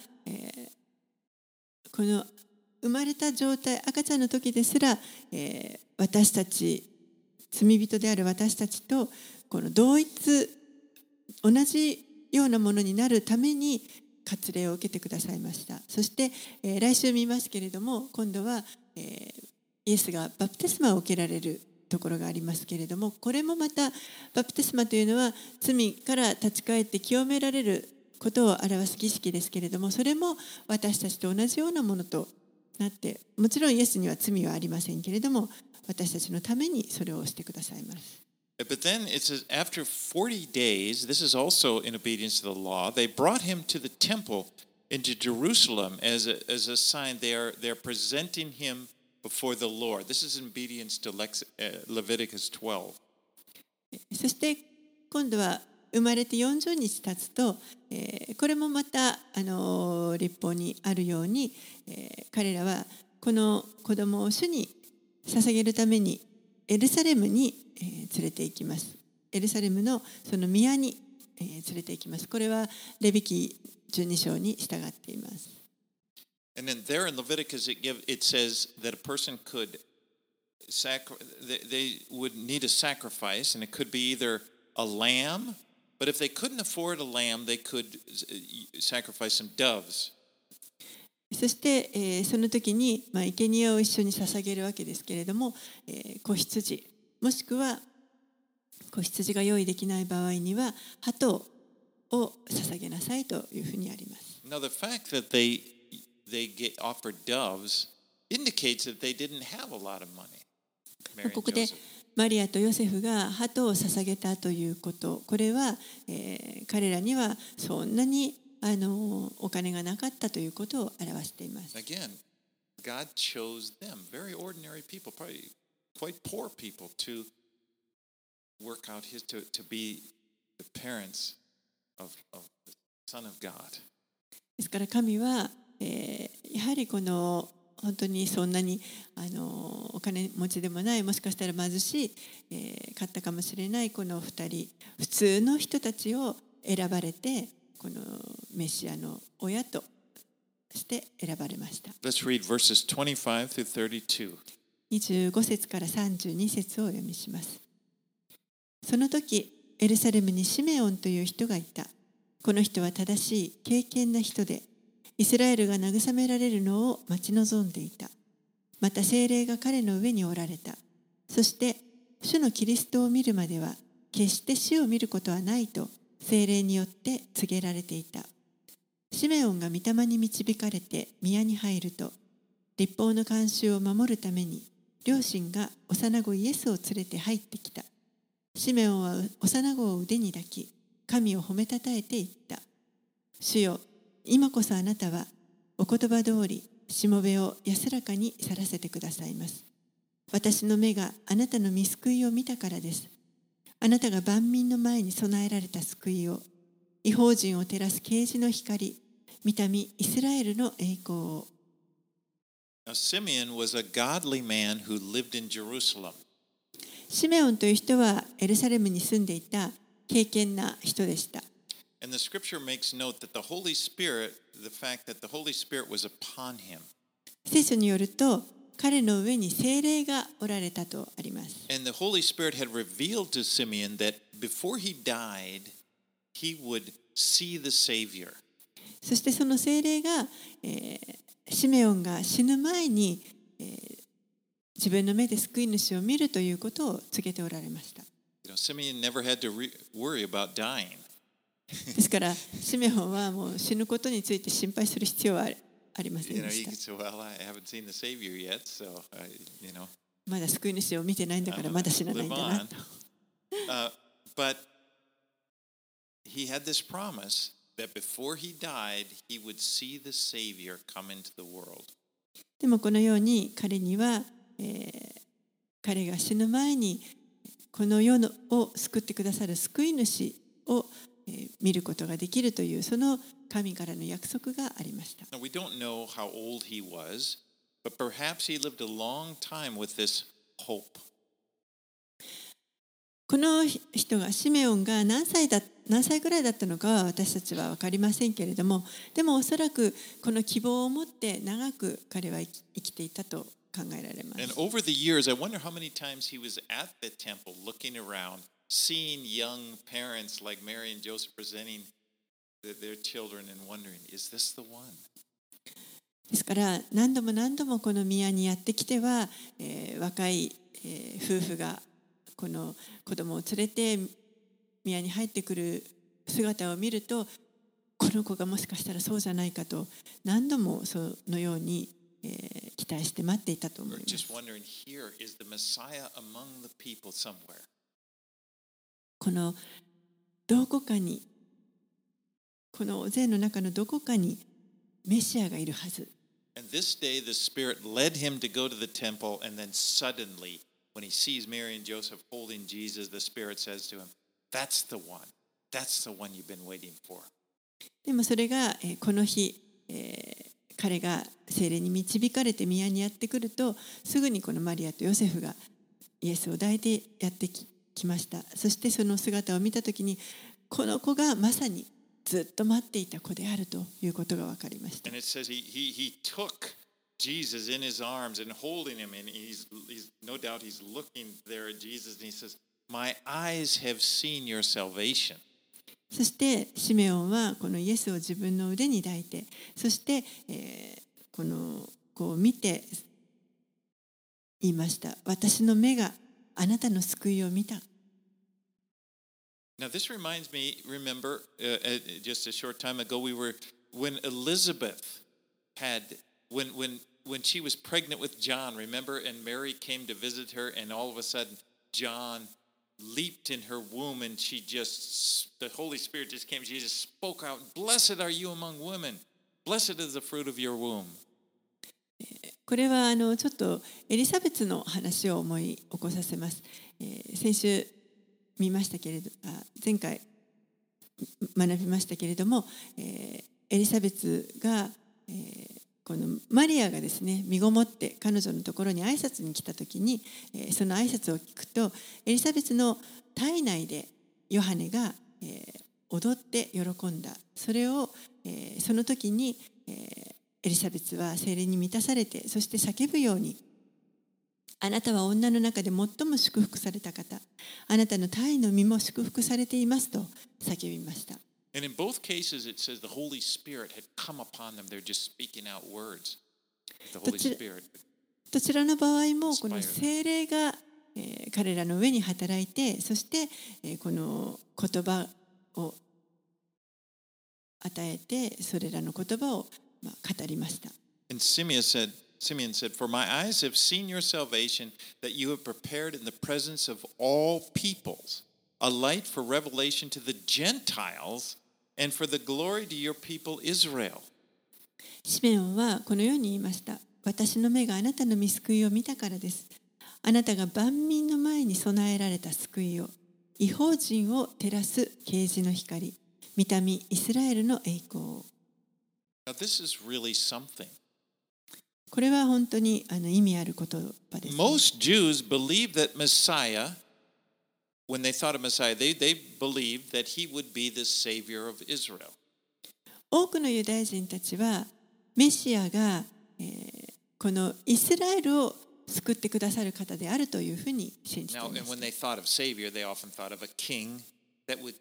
Speaker 2: この生まれた状態、赤ちゃんの時ですら、私たち罪人である私たちとこの同じようなものになるために割礼を受けてくださいました。そして、来週見ますけれども、今度は、イエスがバプテスマを受けられるところがありますけれども、これもまたバプテスマというのは罪から立ち返って清められることを表す儀式ですけれども、それも私たちと同じようなものとなって、もちろんイエスには罪はありませんけれども、私たちのためにそれをしてくださいます。
Speaker 1: But then it says, after 40 days, this is also in obedience to the law, they brought him to the temple into Jerusalem as a sign. They're presenting him before the Lord. This is in obedience to Leviticus 12.
Speaker 2: そして今度は生まれて40日経つと、これもまた律法にあるように、彼らはこの子供を主に捧げるためにエルサレムに連れて行きます。エルサレムのその宮に連れて行きます。これはレビ記12章に従っています。
Speaker 1: And then there in Leviticus it says that a person could they would need a sacrifice, and it could be either a lamb, but if they couldn't afford a lamb, they could sacrifice some doves.
Speaker 2: そして、その時に、生贄を一緒に捧げるわけですけれども、子羊もしくは子羊が用意できない場合には鳩を捧げなさいというふうにあります。
Speaker 1: Now the fact that they get offered doves indicates that they didn't have a lot of money.
Speaker 2: ここでマリアとヨセフが鳩を捧げたということ、これは、彼らにはそんなにお金がなかったということを表しています。
Speaker 1: Again, God chose them, very ordinary people, probably quite poor people, to work out to be the parents of the Son of God.
Speaker 2: ですから神は、やはりこの本当にそんなにお金持ちでもない、もしかしたら貧しい、かったかもしれないこの2人、普通の人たちを選ばれて、このメシアの親として選ばれました。
Speaker 1: Let's read verses 25 through 32.
Speaker 2: 25節から32節をお読みします。その時、エルサレムにシメオンという人がいた。この人は正しい、敬虔な人で、イスラエルが慰められるのを待ち望んでいた。また聖霊が彼の上におられた。そして、主のキリストを見るまでは、決して死を見ることはないと、聖霊によって告げられていた。シメオンが御霊に導かれて宮に入ると、律法の慣習を守るために、両親が幼子イエスを連れて入ってきた。シメオンは幼子を腕に抱き、神を褒めたたえて言った。主よ、今こそあなたはお言葉通りしもべを安らかに去らせてくださいます。私の目があなたの御救いを見たからです。あなたが万民の前に備えられた救いを、異邦人を照らす啓示の光、御民イスラエルの栄光を。
Speaker 1: Now, Simeon was a godly man who lived in Jerusalem.
Speaker 2: シメオンという人はエルサレムに住んでいた敬虔な人でした。
Speaker 1: And the scripture makes note that the Holy Spirit, the fact that the Holy Spirit was upon him.
Speaker 2: 聖書によると、彼の上に聖霊がおられたとあります。
Speaker 1: And the Holy Spirit had revealed to Simeon that before he died, he would see the Savior.
Speaker 2: そしてその聖霊が、シメオンが死ぬ前に、自分の目で救い主を見るということを告げておられました。
Speaker 1: You know, Simeon never had to worry about dying.
Speaker 2: ですから、シメオンはもう死ぬことについて心配する必要はありません
Speaker 1: You
Speaker 2: で
Speaker 1: know,
Speaker 2: し
Speaker 1: he
Speaker 2: た。
Speaker 1: could say, "Well, I haven't seen the Savior yet, so you know."
Speaker 2: まだ救い主を見てないんだからまだ死なないんだなと。
Speaker 1: But he had this promise that before he died, he would see the Savior come into the world.
Speaker 2: でもこのように彼には、彼が死ぬ前にこの世を救ってくださる救い主を、見ることができるというその神からの約束がありました。
Speaker 1: Now, we don't know how old he was, but perhaps he lived a long time with this hope.
Speaker 2: この人がシメオンが何歳ぐらいだったのかは私たちは分かりませんけれども、でもおそらくこの希望を持って長く彼は生きていたと考えられます。
Speaker 1: And over the years, I wonder how many times he was at the temple looking around, seeing young parents like Mary and Joseph presenting their children and wondering, is this the one?
Speaker 2: ですから何度もこの宮にやってきては、若い、夫婦がこの子供を連れて宮に入ってくる姿を見ると、この子がもしかしたらそうじゃないかと何度もそのように、期待して待っていたと思います。
Speaker 1: Just wondering, here is the Messiah among the people somewhere.
Speaker 2: このどこかに、この大勢の中のどこかにメシアがいるはず。
Speaker 1: And this day the Spirit led him to go to the temple, and then suddenly, when he sees Mary and Joseph holding Jesus, the Spirit says to him, "That's the one. That's the one you've been waiting for."
Speaker 2: でもそれが、この日、彼が聖霊に導かれて宮にやってくると、すぐにこのマリアとヨセフがイエスを抱いてやってきました。そしてその姿を見たときに、この子がまさにずっと待っていた子であるということが分かりました。
Speaker 1: And it says he took Jesus in his arms and holding him, and he's no doubt he's looking there at Jesus, and he says, "My eyes have seen your salvation."
Speaker 2: そしてシメオンはこのイエスを自分の腕に抱いて、そして、この子を見て言いました。私の目があなたの救いを見た。
Speaker 1: Now this reminds me, remember, just a short time ago, when Elizabeth when she was pregnant with John, remember, and Mary came to visit her, and all of a sudden John leaped in her womb and the Holy Spirit just came. She just spoke out, "Blessed are you among women. Blessed is the fruit of your womb."
Speaker 2: これはちょっとエリザベツの話を思い起こさせます。先週見ましたけれど、前回学びましたけれども、エリザベツが、このマリアがですね、身ごもって彼女のところに挨拶に来た時に、その挨拶を聞くと、エリザベツの体内でヨハネが、踊って喜んだ。それを、その時に、エリザベツは聖霊に満たされて、そして叫ぶように、あなたは女の中で最も祝福された方、あなたの胎の身も祝福されていますと叫びました。
Speaker 1: And in both cases it says the Holy Spirit had come upon them. They're just speaking out words. The Holy Spirit.
Speaker 2: どちらの場合もこの聖霊が、彼らの上に働いて、そして、この言葉を与えて、それらの言葉を語りました。
Speaker 1: And Simeon said, "For my eyes have seen your salvation, that you have prepared in the presence of all peoples, a light for revelation to the Gentiles, and for the glory to your people Israel."
Speaker 2: シメオンはこのように言いました。私の目があなたの御救いを見たからです。あなたが万民の前に備えられた救いを、異邦人を照らす啓示の光、御民イスラエルの栄光を。
Speaker 1: Now this is really something.
Speaker 2: これは本当に意味ある言葉です。
Speaker 1: Most Jews believed that Messiah, when they thought of Messiah, they believed that he would be the savior of Israel.
Speaker 2: 多くのユダヤ人たちはメシアが、このイスラエルを救ってくださる方であるというふうに信じてい
Speaker 1: Now,
Speaker 2: ま
Speaker 1: and
Speaker 2: す。
Speaker 1: when they thought of savior, they often thought of a king that would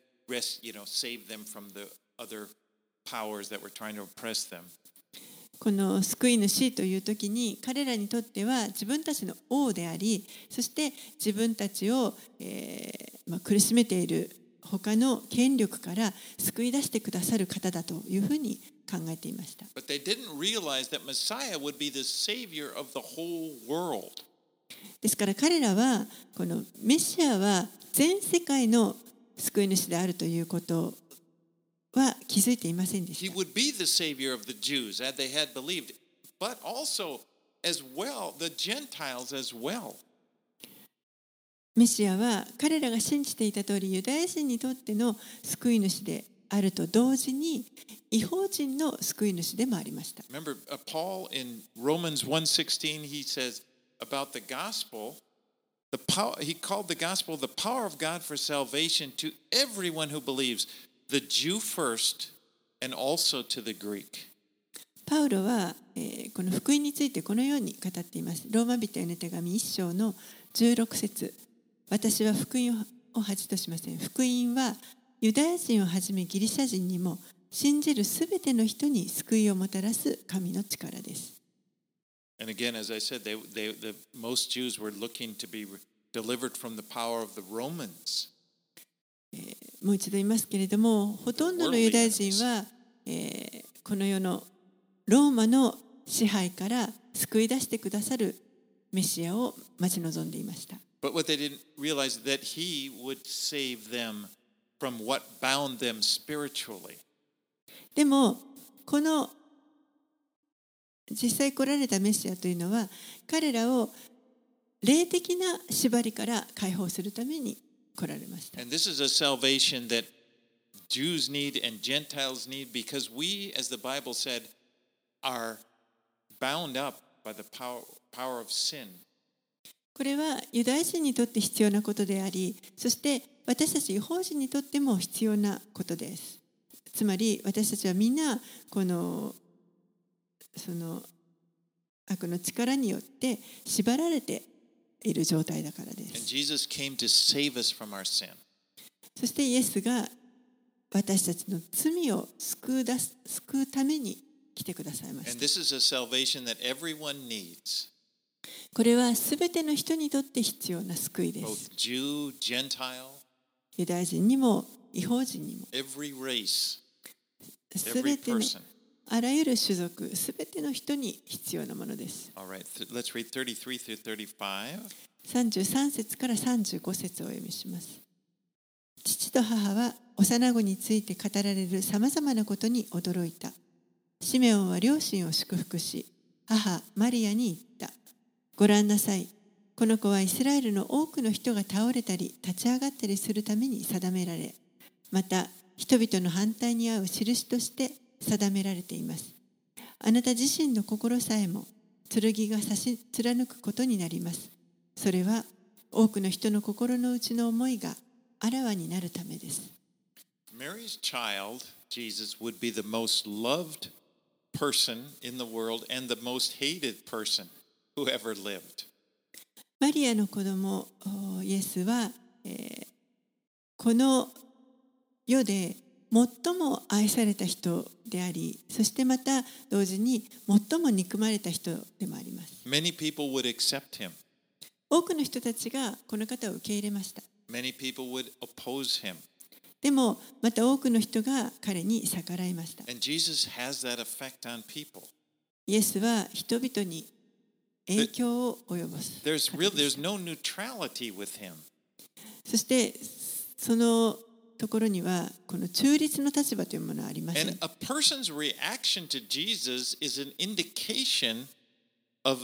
Speaker 1: save them from the other powers that were trying to oppress them.
Speaker 2: この救い主という時に彼らにとっては自分たちの王であり、そして自分たちを、苦しめている他の権力から救い出してくださる方だというふうに考えていました。
Speaker 1: But they didn't realize that Messiah would be the savior of the whole world.
Speaker 2: ですから彼らはこのメシアは全世界の救い主であるということは気づいていませんでし
Speaker 1: He
Speaker 2: た。
Speaker 1: would be the savior of the Jews, as they had believed, but also as well the Gentiles as well.
Speaker 2: メシアは彼らが信じていた通りユダヤ人にとっての救い主であると同時に異邦人の救い主でもありました。
Speaker 1: Remember, Paul in Romans 1:16, he says about the gospel, he called the gospel the power of God for salvation to everyone who believes, the Jew first and also to the Greek.
Speaker 2: パウロは、この福音についてこのように語っています。ローマ人への手紙1章の16節。私は福音を恥としません。福音はユダヤ人をはじめギリシャ人にも信じるすべての人に救いをもたらす神の力です。
Speaker 1: And again, as I said, most Jews were looking to be delivered from the power of the Romans.
Speaker 2: もう一度言いますけれども、ほとんどのユダヤ人は、この世のローマの支配から救い出してくださるメシアを待ち望んでいました。
Speaker 1: But what they didn't realize is that he would save them from what bound them spiritually.
Speaker 2: でもこの実際来られたメシアというのは彼らを霊的な縛りから解放するために来られました。
Speaker 1: And this is a salvation that Jews need and Gentiles need because we, as the Bible said, are bound up by the power of sin.
Speaker 2: これはユダヤ人にとって必要なことであり、そして私たち異邦人にとっても必要なことです。つまり私たちはみんなこのその悪の力によって縛られている状態だからで
Speaker 1: And
Speaker 2: す。
Speaker 1: Jesus came to save us from our sin.
Speaker 2: そしてイエスが私たちの罪を救うために来てくださいまし
Speaker 1: And
Speaker 2: た。
Speaker 1: this is a salvation that everyone needs,
Speaker 2: これはすべての人にとって必要な救いで
Speaker 1: both
Speaker 2: す。
Speaker 1: Jew, Gentile,
Speaker 2: ユダヤ人にも異邦人にも
Speaker 1: every race,
Speaker 2: す
Speaker 1: every
Speaker 2: べての
Speaker 1: person.
Speaker 2: あらゆる種族すべての人に必要なものです。
Speaker 1: All right, let's read 33 through 35.
Speaker 2: 33節から35節をお読みします。父と母は幼子について語られるさまざまなことに驚いた。シメオンは両親を祝福し、母マリアに言った。ご覧なさい。この子はイスラエルの多くの人が倒れたり立ち上がったりするために定められ、また人々の反対に遭う印として定められています。あなた自身の心さえも剣が刺し貫くことになります。それは多くの人の心の内の思いがあらわになるためです。
Speaker 1: Mary's child, Jesus, would be the most loved person in the world and the most hated person who ever lived.
Speaker 2: マリアの子供イエスは、この世で最も愛された人であり、そしてまた同時に最も憎まれた人でもあります。
Speaker 1: Many people would accept him.
Speaker 2: 多くの人たちがこの方を受け入れました。
Speaker 1: Many people would oppose him.
Speaker 2: でもまた多くの人が彼に逆らいました。
Speaker 1: And Jesus has that effect on people.
Speaker 2: イエスは人々に影響を及ぼす。
Speaker 1: There's no neutrality with him.
Speaker 2: そしてそのところにはこの中立の立場というものはありません。
Speaker 1: And a person's reaction to Jesus is an indication of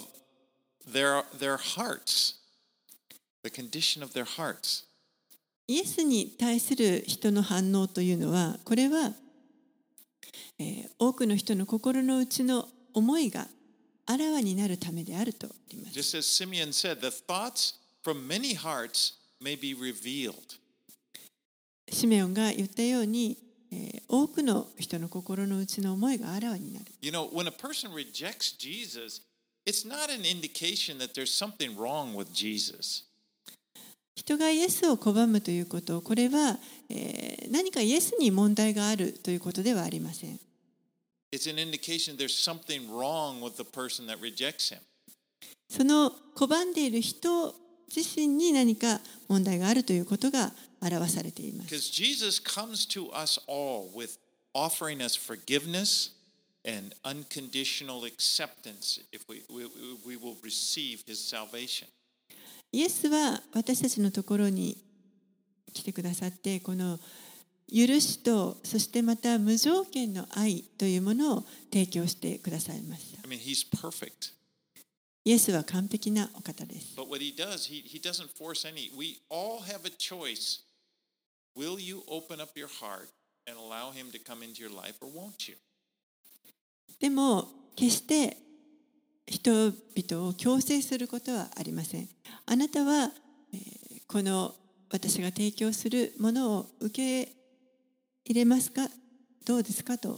Speaker 1: their hearts, the condition of their hearts.
Speaker 2: イエスに対する人の反応というのは、これは、多くの人の心の内の思いがあらわになるためであるとあります。
Speaker 1: Just as Simeon said, the thoughts from many hearts may be revealed.
Speaker 2: シメオンが言ったように、多くの人の心の内の思いがあらわになる。
Speaker 1: You know, when a person rejects Jesus, it's not an indication that there's something wrong with Jesus.
Speaker 2: 人がイエスを拒むということ、これは、何かイエスに問題があるということではありません。
Speaker 1: It's an indication there's something wrong with the person that rejects him.
Speaker 2: その拒んでいる人自身に何か問題があるということが表されています。
Speaker 1: Because Jesus comes to us all with offering us forgiveness and unconditional acceptance if we will receive his salvation.
Speaker 2: イエスは私たちのところに来てくださって、この許しと、そしてまた無条件の愛というものを提供してくださいました。
Speaker 1: I mean, he's perfect.
Speaker 2: イエスは完璧なお方です。
Speaker 1: But what he does, he doesn't force any. We all have a choice. Will you open up your heart and allow him to come into your life, or won't you?
Speaker 2: でも決して人々を強制することはありません。あなたは、この私が提供するものを受け入れますか、どうですかと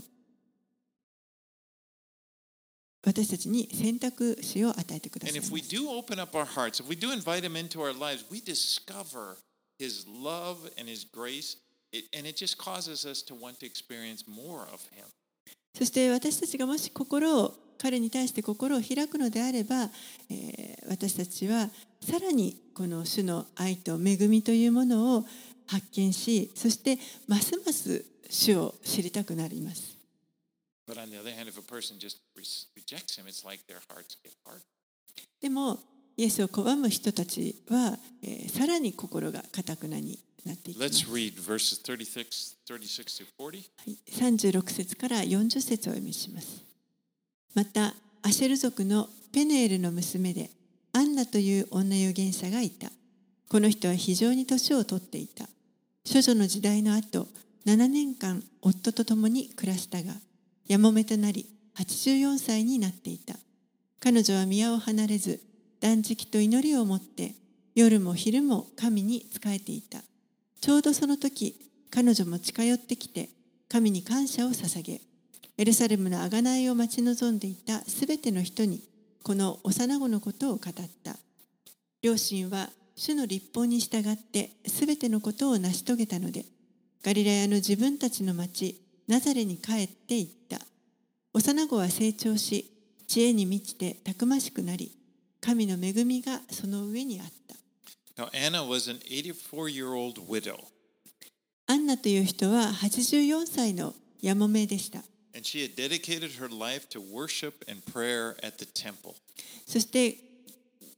Speaker 2: 私たちに選択肢を与えてください
Speaker 1: And
Speaker 2: ます。
Speaker 1: if we do open up our hearts, if we do invite him into our lives, we discover his love and his grace, and it just causes us to want to experience more of him.
Speaker 2: そして私たちがもし彼に対して心を開くのであれば、私たちはさらにこの主の愛と恵みというものを発見し、そしてますます主を知りたくなります。
Speaker 1: But on the other hand, if a person just rejects him, it's like their hearts get hard.
Speaker 2: でもイエスを拒む人たちは、さらに心が堅くなになっていきます。
Speaker 1: Let's read verses 36 to 40.
Speaker 2: 36節から40節をお読みします。またアシェル族のペヌエルの娘でアンナという女預言者がいた。この人は非常に年を取っていた。処女の時代の後7年間夫と共に暮らしたが、やもめとなり84歳になっていた。彼女は宮を離れず断食と祈りをもって夜も昼も神に仕えていた。ちょうどその時彼女も近寄ってきて神に感謝を捧げ、エルサレムの贖いを待ち望んでいたすべての人にこの幼子のことを語った。両親は主の律法に従ってすべてのことを成し遂げたので、ガリラヤの自分たちの町ナザレに帰って行った。幼子は成長し、知恵に満ちてたくましくなり、神の恵みがその上にあった。
Speaker 1: Now, Anna was an 84-year-old widow.
Speaker 2: アンナという人は84歳のやもめでした。
Speaker 1: And she had dedicated her life to worship and prayer at the temple.
Speaker 2: そして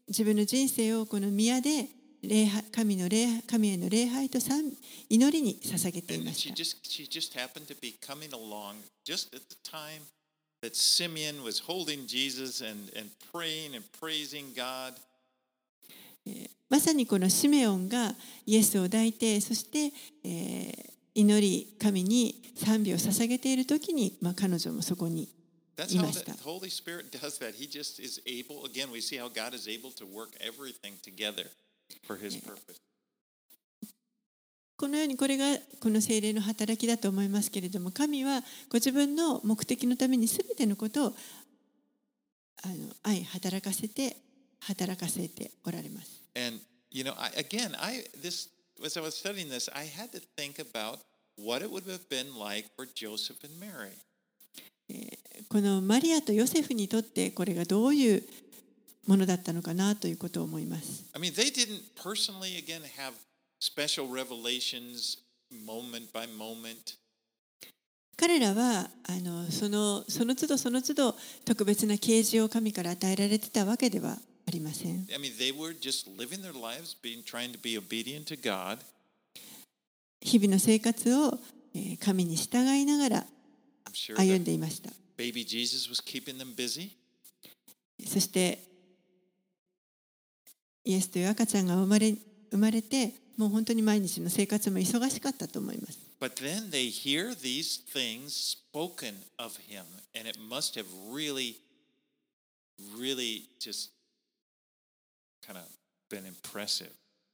Speaker 2: 自分の人生をこの宮で神への礼拝と祈りに捧げてい
Speaker 1: And
Speaker 2: ました。
Speaker 1: she just happened to be coming along just at the time that Simeon was holding Jesus and praying and praising God.
Speaker 2: まさにこのシメオンがイエスを抱いて、そして、祈り神に賛美を捧げているときに、彼女もそこに
Speaker 1: That's
Speaker 2: い
Speaker 1: how
Speaker 2: ました。
Speaker 1: the Holy Spirit does that. He just is able, again, we see how God is able to work everything together for His purpose.
Speaker 2: このようにこれがこの聖霊の働きだと思いますけれども、神はご自分の目的のためにすべてのことを働かせておられます。
Speaker 1: And, as I was studying this, I had to think about what it would have been like for Joseph and Mary.
Speaker 2: このマリアとヨセフにとってこれがどういうものだったのかなということを思います。
Speaker 1: I mean, they didn't personally, again, have special revelations moment by moment.
Speaker 2: 彼らはその都度その都度特別な啓示を神から与えられてたわけではありません。
Speaker 1: I mean, they were just living their lives, trying to be obedient to God.
Speaker 2: 日々の生活を神に従いながら
Speaker 1: I'm sure
Speaker 2: 歩
Speaker 1: that
Speaker 2: んでいました。
Speaker 1: baby Jesus was keeping them busy.
Speaker 2: そしてイエスという赤ちゃんが生まれて、もう本当に毎日の生活も忙しかったと思います。
Speaker 1: But then they hear these things spoken of him, and it must have really just kind of been impressive.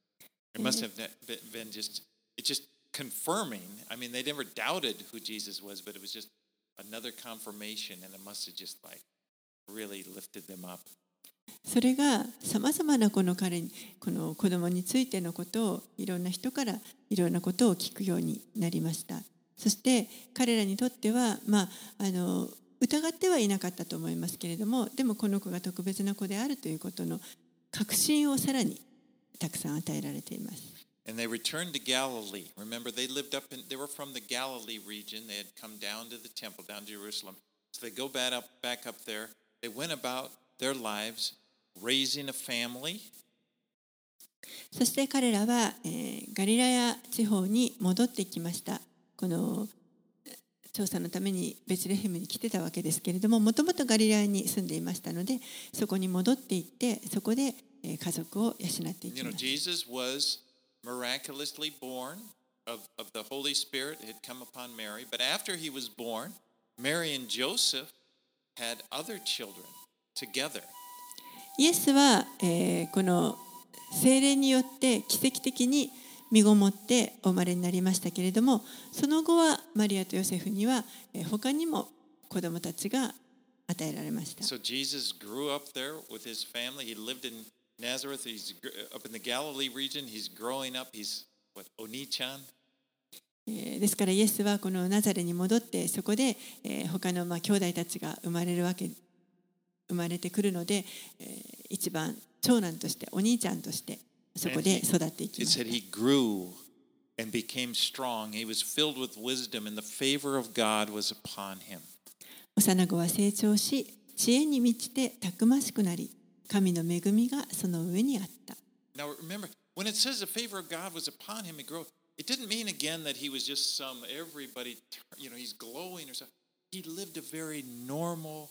Speaker 1: It must have been just confirming. I mean, they never doubted who Jesus was, but it was just another confirmation, and it must have just really lifted them up.
Speaker 2: それがさまざまなこの子供についてのことをいろんな人からいろんなことを聞くようになりました。そして彼らにとっては、疑ってはいなかったと思いますけれども、でもこの子が特別な子であるということの確信をさらにたくさん与えられています。
Speaker 1: And they returned to Galilee. Remember, they were from the Galilee region. They had come down to the temple, down to Jerusalem. So they go back up there. They went about their lives, raising a family.
Speaker 2: そして彼らは、ガリラヤ地方に戻ってきました。この調査のためにベツレヘムに来てたわけですけれども、もともとガリラヤに住んでいましたので、そこに戻っていって、そこで家族を養っていきます。
Speaker 1: Jesus was miraculously born of the Holy Spirit had come upon Mary. But after he was born, Mary and Joseph had other children together.
Speaker 2: イエスは、この聖霊によって奇跡的に身ごもってお生まれになりましたけれども、その後はマリアとヨセフには他にも子供たちが与えられました。
Speaker 1: So Jesus grew up there with his family. He lived in Nazareth. He's up in the Galilee region. He's growing up. He's Oni-chan.
Speaker 2: ですからイエスはこのナザレに戻ってそこで他の兄弟たちが生まれてくるので、一番長男としてお兄ちゃんとしてそこで育っていきました。
Speaker 1: It said he grew and became strong. He was filled with wisdom, and the favor of God was upon him.
Speaker 2: 幼子は成長し、知恵に満ちてたくましくなり、神の恵みがその上にあった。
Speaker 1: Now remember, when it says the favor of God was upon him, it didn't mean again that he was just everybody, he's glowing or something. He lived a very normal,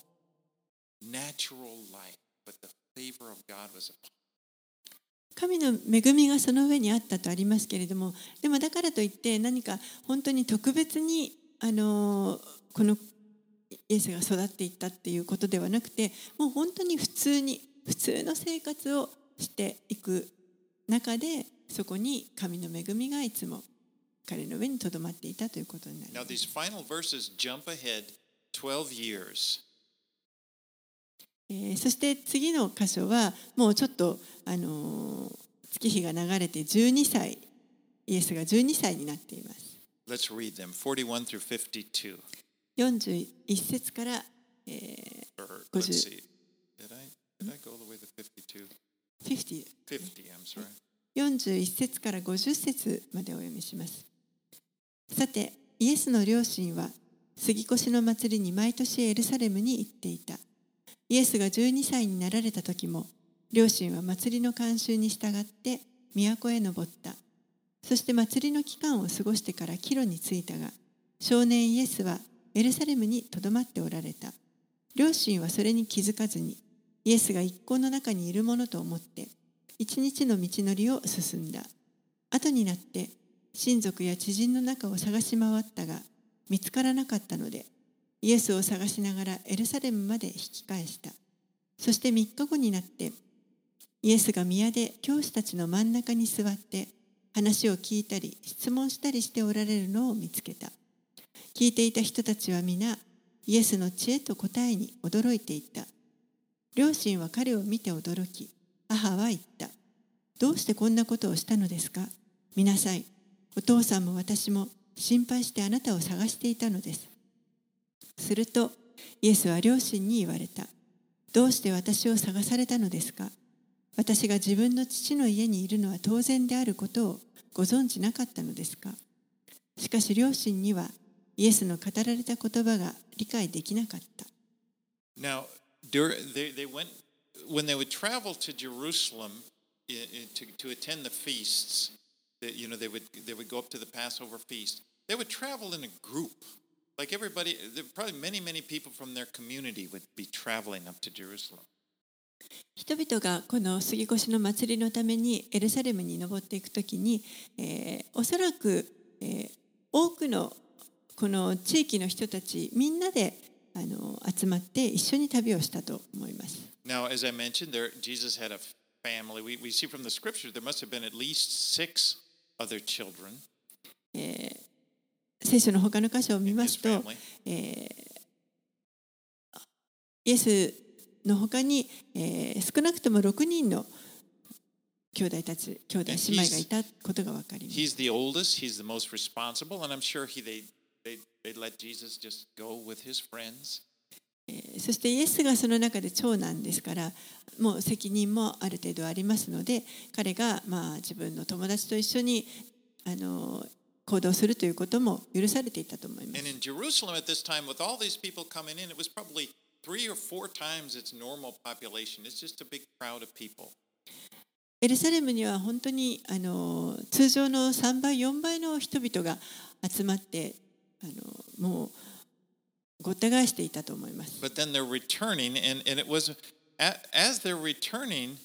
Speaker 1: natural life, but the favor of God was upon him.
Speaker 2: 神の恵みがその上にあったとありますけれども、でもだからといって何か本当に特別にこのイエスが育っていったっていうことではなくて、もう本当に普通の生活をしていく中で、そこに神の恵みがいつも彼の上にとどまっていたということになります。
Speaker 1: Now these final verses jump ahead 12 years.
Speaker 2: そして次の箇所はもうちょっと月日が流れて12歳、イエスが12歳になっています。
Speaker 1: Let's read them, 41 through 52.
Speaker 2: 41節から、
Speaker 1: Let's
Speaker 2: 50。
Speaker 1: see. Did I go all the way to 52?
Speaker 2: 50
Speaker 1: I'm sorry.
Speaker 2: 41節から50節までお読みします。さて、イエスの両親は杉越の祭りに毎年エルサレムに行っていた。イエスが12歳になられた時も、 両親は祭りの慣習に従って都へ登った。そして祭りの期間を過ごしてから帰路に着いたが、少年イエスはエルサレムにとどまっておられた。両親はそれに気づかずに、イエスが一行の中にいるものと思って、一日の道のりを進んだ。後になって、親族や知人の中を探し回ったが、見つからなかったので、イエスを探しながらエルサレムまで引き返した。そして3日後になって、イエスが宮で教師たちの真ん中に座って、話を聞いたり質問したりしておられるのを見つけた。聞いていた人たちは皆、イエスの知恵と答えに驚いていた。両親は彼を見て驚き、母は言った。どうしてこんなことをしたのですか？見なさい。お父さんも私も心配してあなたを探していたのです。すると、イエスは両親に言われた。どうして私を探されたのですか？私が自分の父の家にいるのは当然であることをご存じなかったのですか？しかし両親にはイエスの語られた言葉が理解できなかった。
Speaker 1: Now, when they would travel to Jerusalem to attend the feasts, they would go up to the Passover feast. They would travel in a group. Like everybody, probably many people from their community would be traveling up to Jerusalem.
Speaker 2: 人々がこの杉越の祭りのためにエルサレムに登っていくときに、おそらく、多くのこの地域の人たちみんなで集まって一緒に旅をしたと思います。
Speaker 1: Now, as I mentioned, Jesus had a family. We see from the scriptures there must have been at least 6 other children.
Speaker 2: 聖書の他の箇所を見ますと、イエスの他に、少なくとも6人の兄弟姉妹がいたことが分かります。
Speaker 1: He's the oldest, he's the most responsible, and I'm sure they'd let Jesus just go with his friends.
Speaker 2: そしてイエスがその中で長男ですから、もう責任もある程度ありますので、彼が自分の友達と一緒に行動するということも許されていたと思います。
Speaker 1: And in Jerusalem at this time, with all these people coming in, it was probably 3 or 4 times its normal population. It's just a big crowd of people.
Speaker 2: エルサレムには本当に通常の3倍4倍の人々が集まってもうごった返していたと思います。
Speaker 1: But then they're returning, and it was as they're returning,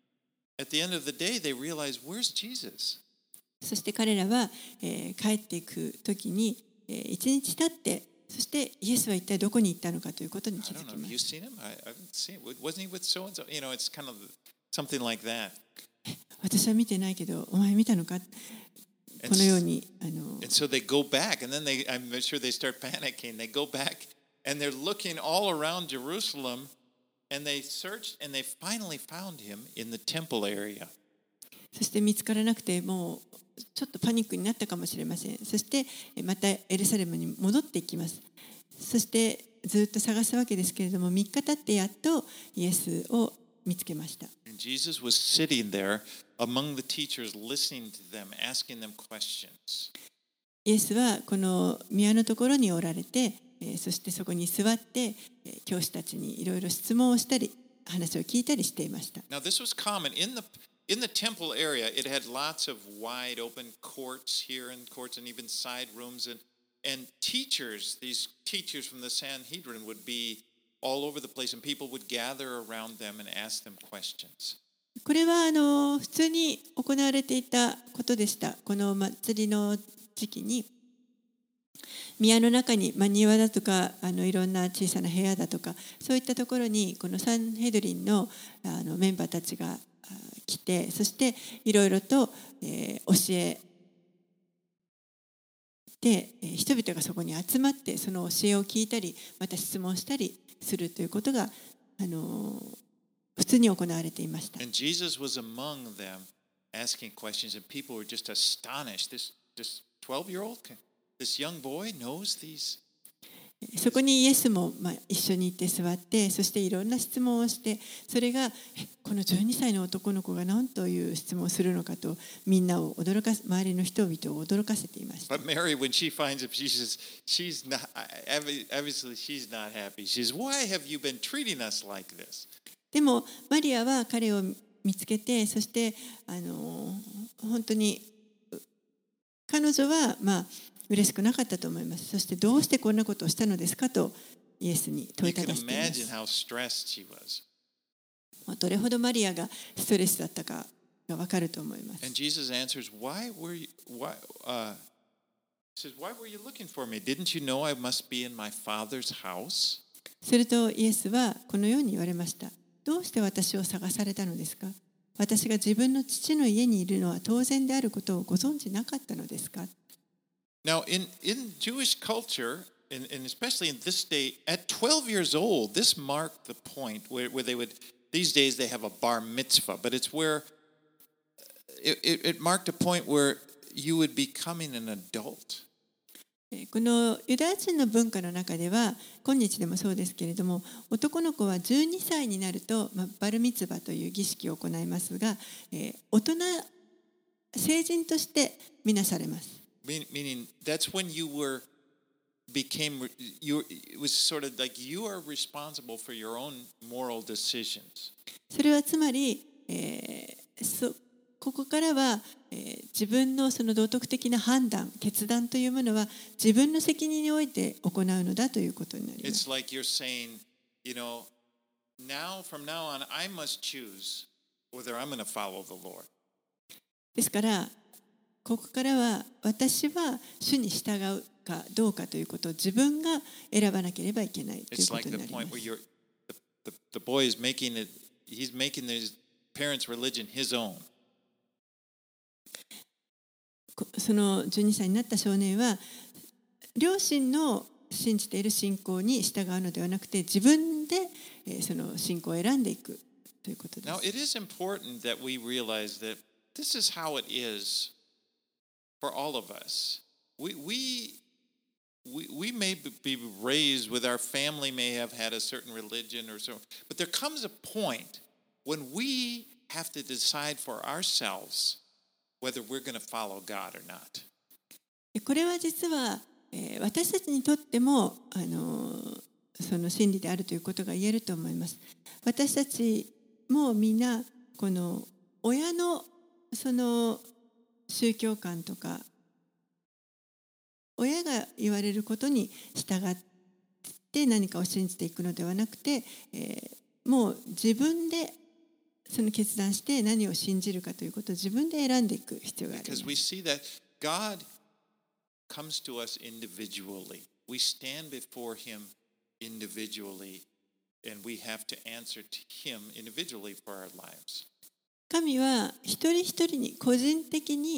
Speaker 1: at the end of the day, they realize, where's Jesus?
Speaker 2: そして彼らは、帰っていくときに、一日経って、そしてイエスは一体どこに行ったのかということに気づきます。
Speaker 1: I haven't seen him. Wasn't he with so and so? It's kind of something like that.
Speaker 2: 私は見てないけど、お前見たのか？このように
Speaker 1: And so they go back, and then I'm sure they start panicking. They go back, and they're looking all around Jerusalem, and they searched, and they finally found him in the temple area.
Speaker 2: そして見つからなくて、もうちょっとパニックになったかもしれません。そしてまたエルサレムに戻っていきます。そしてずっと探すわけですけれども、3日経ってやっとイエスを見つけました。
Speaker 1: And Jesus was sitting there among the teachers, listening to them, asking them questions.
Speaker 2: イエスはこの宮のところにおられて、そしてそこに座って教師たちにいろいろ質問をしたり、話を聞いたりしていました。
Speaker 1: Now this was common in the temple area. It had lots of wide open courts here and courts and even side rooms, and teachers, these teachers from the Sanhedrin would be all over the place, and people would gather around them and ask them questions.
Speaker 2: これは普通に行われていたことでした。この祭りの時期に宮の中に、庭だとかいろんな小さな部屋だとか、そういったところにこのサンヘドリンのメンバーたちが来て、そしていろいろと、教えて、人々がそこに集まってその教えを聞いたり、また質問したりするということが普通に行われていました。
Speaker 1: And Jesus was among them asking questions, and people were just astonished. This 12-year-old, this young boy knows these.
Speaker 2: そこにイエスも一緒に行って座って、そしていろんな質問をして、それがこの12歳の男の子が何という質問をするのかと、みんなを周りの人々を驚かせていました。
Speaker 1: But Mary, when she finds him, she's not, obviously she's not happy. She says, "Why have you been treating us like this?"
Speaker 2: でもマリアは彼を見つけて、そして本当に彼女は嬉しくなかったと思います。そしてどうしてこんなことをしたのですかとイエスに問いただしています。どれほどマリアがストレスだったかがわかると思います。
Speaker 1: And Jesus answers, Why were you looking for me? Didn't you know I must be in my Father's house?
Speaker 2: するとイエスはこのように言われました。どうして私を探されたのですか？私が自分の父の家にいるのは当然であることをご存知なかったのですか？
Speaker 1: Now, in Jewish culture, and especially in this day, at 12 years old, this marked the point where they would, these days they have a bar mitzvah, but it's where it marked a point where you would be becoming an adult.
Speaker 2: このユダヤ人の文化の中では、今日でもそうですけれども、男の子は12歳になると、バルミツバという儀式を行いますが、成人としてみなされます。
Speaker 1: Meaning that's when it was sort of like you are responsible for your own moral decisions.
Speaker 2: それはつまり、ここからは、自分のその道徳的な判断、決断というものは自分の責任において行うのだということになります。
Speaker 1: It's like you're saying, from now on, I must choose whether I'm going to follow the Lord.
Speaker 2: ですから、ここからは私は主に従うかどうかということを自分が選ばなければいけないということになります。
Speaker 1: The boy is he's making his parents' religion his own.
Speaker 2: その12歳になった少年は両親の信じている信仰に従うのではなくて、自分でその信仰を選んでいくということです。
Speaker 1: Now, it is important that we realize that this is how it is for all of us. We may be raised with our family, may have had a certain religion or so, but there comes a point when we have to decide for ourselves whether we're going to follow God or not.
Speaker 2: これは実は私たちにとってもその真理であるということが言えると思います。私たちもみんなこの親のその宗教観とか親が言われることに従って何かを信じていくのではなくて、もう自分でその決断して何を信じるかということを自分で選んでいく必要があります。
Speaker 1: Because we see that God comes to us individually. We stand before Him individually, and we have to answer to Him individually for our lives.
Speaker 2: 神は一人一人に個人的に、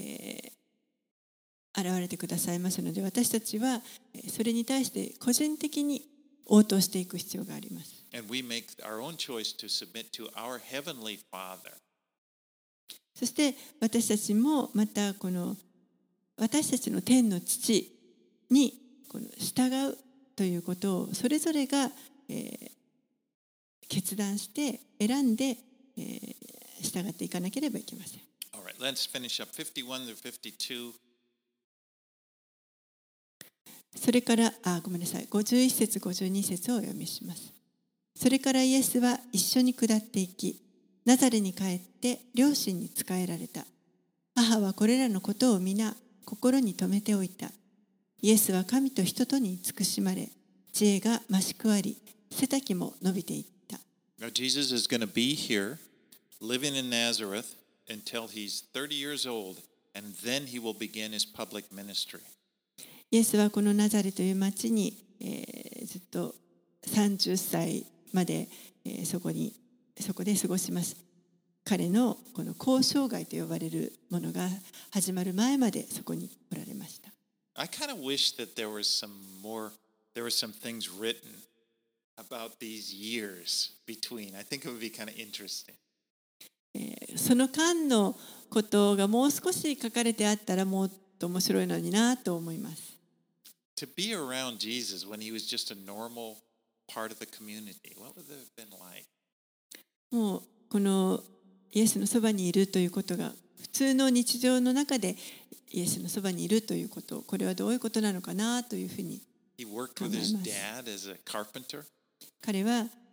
Speaker 2: 現れてくださいますので、私たちはそれに対して個人的に応答していく必要があります。
Speaker 1: And we make our own choice to submit to our heavenly Father.
Speaker 2: そして私たちもまたこの私たちの天の父にこの従うということをそれぞれが、決断して選んで、従っていかなければいけません。
Speaker 1: All right, let's finish up 51 through 52.
Speaker 2: それからごめんなさい、51節52節をお読みします。それからイエスは一緒に下っていき、ナザレに帰って両親に仕えられた。母はこれらのことを皆心に留めておいた。イエスは神と人とに慈しまれ、知恵が増し加わり、背丈も伸びていった。
Speaker 1: Now, Jesus is going to be here, living in Nazareth, until he's 30 years old, and then he will begin his public ministry.
Speaker 2: イエスはこのナザレという町に、ずっと30歳まで、そこで過ごします。彼のこの交渉外と呼ばれるものが始まる前までそこにおられました。
Speaker 1: I kind of wish that there were some things written about these years between. I think it would be kind of interesting.
Speaker 2: その間のことがもう少し書かれてあったらもっと面白いのになと思います。
Speaker 1: To be around Jesus when he was just a normal part of the community, what would it have been like?
Speaker 2: もうこのイエスのそばにいるということが普通の日常の中でイエスのそばにいるということ、これはどういうことなのかなというふうに考えます。
Speaker 1: He worked with his dad as a carpenter.
Speaker 2: 彼は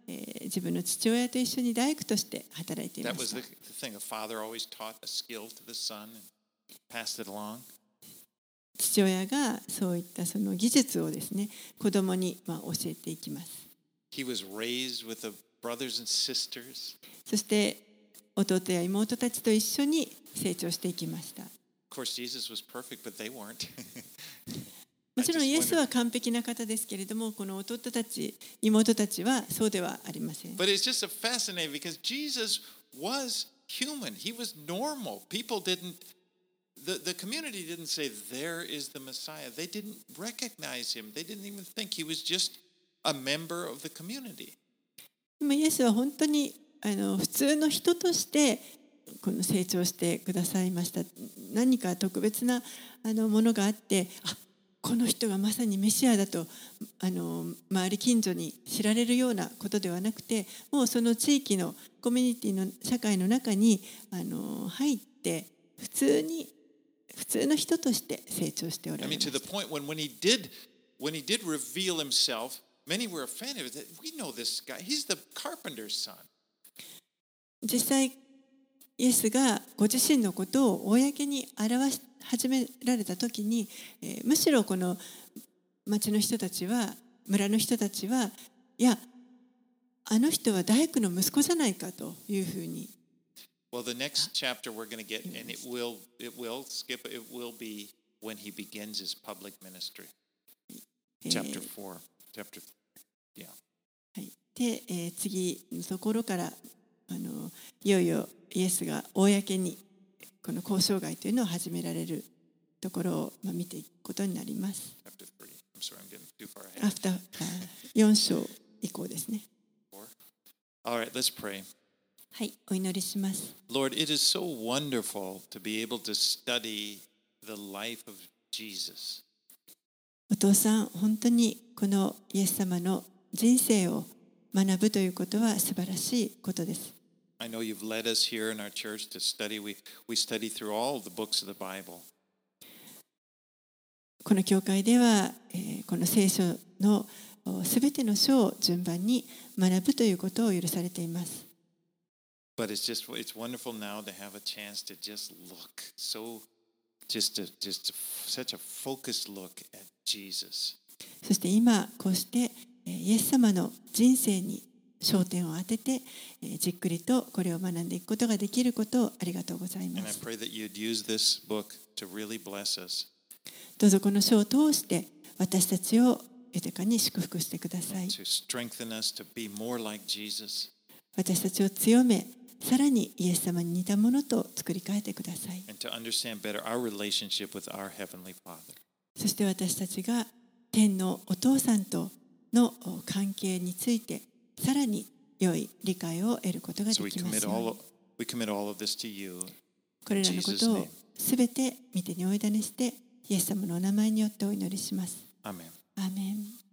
Speaker 2: 自分の父親と一緒に大工として働いていま
Speaker 1: That
Speaker 2: し
Speaker 1: was
Speaker 2: た。
Speaker 1: the thing. A father always taught a skill to the son and passed it along.
Speaker 2: 父親がそういったその技術をですね、子供に教えていきます。
Speaker 1: He was raised with the brothers and sisters.
Speaker 2: そして弟や妹たちと一緒に成長していきました。
Speaker 1: Of course, Jesus was perfect, but they weren't.
Speaker 2: もちろんイエスは完璧な方ですけれども、この弟たち、妹たちはそうではありません。
Speaker 1: But it's just fascinating because Jesus was human. He was normal. People the community didn't say, there is the Messiah. They didn't recognize him. They didn't even think he was just a member of the community.
Speaker 2: でもイエスは本当に普通の人としてこの成長してくださいました。何か特別なものがあって、この人がまさにメシアだと周り近所に知られるようなことではなくて、もうその地域のコミュニティの社会の中に入って普通の人として成長しておら
Speaker 1: I
Speaker 2: れ
Speaker 1: mean,
Speaker 2: ま
Speaker 1: to
Speaker 2: し
Speaker 1: the
Speaker 2: た。
Speaker 1: point when he did reveal himself, many were offended. We know this guy. He's the carpenter's son.
Speaker 2: 実際イエスがご自身のことを公に表し始められた時に、むしろこの町の人たちは、村の人たちは、いや、あの人は大工の息子じゃないかというふうに。
Speaker 1: Well, the next chapter we're going to get, and it will be when he begins his public ministry. Chapter 4. Yeah.
Speaker 2: はい、で、次のところからいよいよイエスが公にこの交渉外というのを始められるところを見ていくことになります。
Speaker 1: Chapter 3. I'm sorry, I'm getting too far ahead.
Speaker 2: 4章以降ですね。
Speaker 1: All right, let's pray.
Speaker 2: はい、お祈りします。
Speaker 1: Lord, it is so wonderful to be able to study the life of Jesus.
Speaker 2: お父さん、本当にこのイエス様の人生を学ぶということは素晴らしいことです。
Speaker 1: I know you've led us here in our church to study. We study through all the books of the Bible.
Speaker 2: この教会では、この聖書のすべての書を順番に学ぶということを許されています。
Speaker 1: But it's wonderful now to have a chance to just look just such a focused look at Jesus.
Speaker 2: そして今こうしてイエス様の人生に焦点を当ててじっくりとこれを学んでいくことができることをありがとうございま
Speaker 1: And I
Speaker 2: す。
Speaker 1: pray that you'd use this book to really bless us,
Speaker 2: どうぞこの書を通して私たちを豊かに祝福してください。
Speaker 1: to strengthen us to be more like Jesus,
Speaker 2: 私たちを強め、さらにイエス様に似たものと作り変えてください。
Speaker 1: and to understand better our relationship with our Heavenly Father.
Speaker 2: そして私たちが天のお父さんとの関係についてさらに良い理解を得ることがで
Speaker 1: So we
Speaker 2: きます
Speaker 1: commit
Speaker 2: ように。
Speaker 1: all of this to you.
Speaker 2: これらのことをすべて御手にお委ねしてイエス様のお名前によってお祈りします。
Speaker 1: Amen.
Speaker 2: アーメン。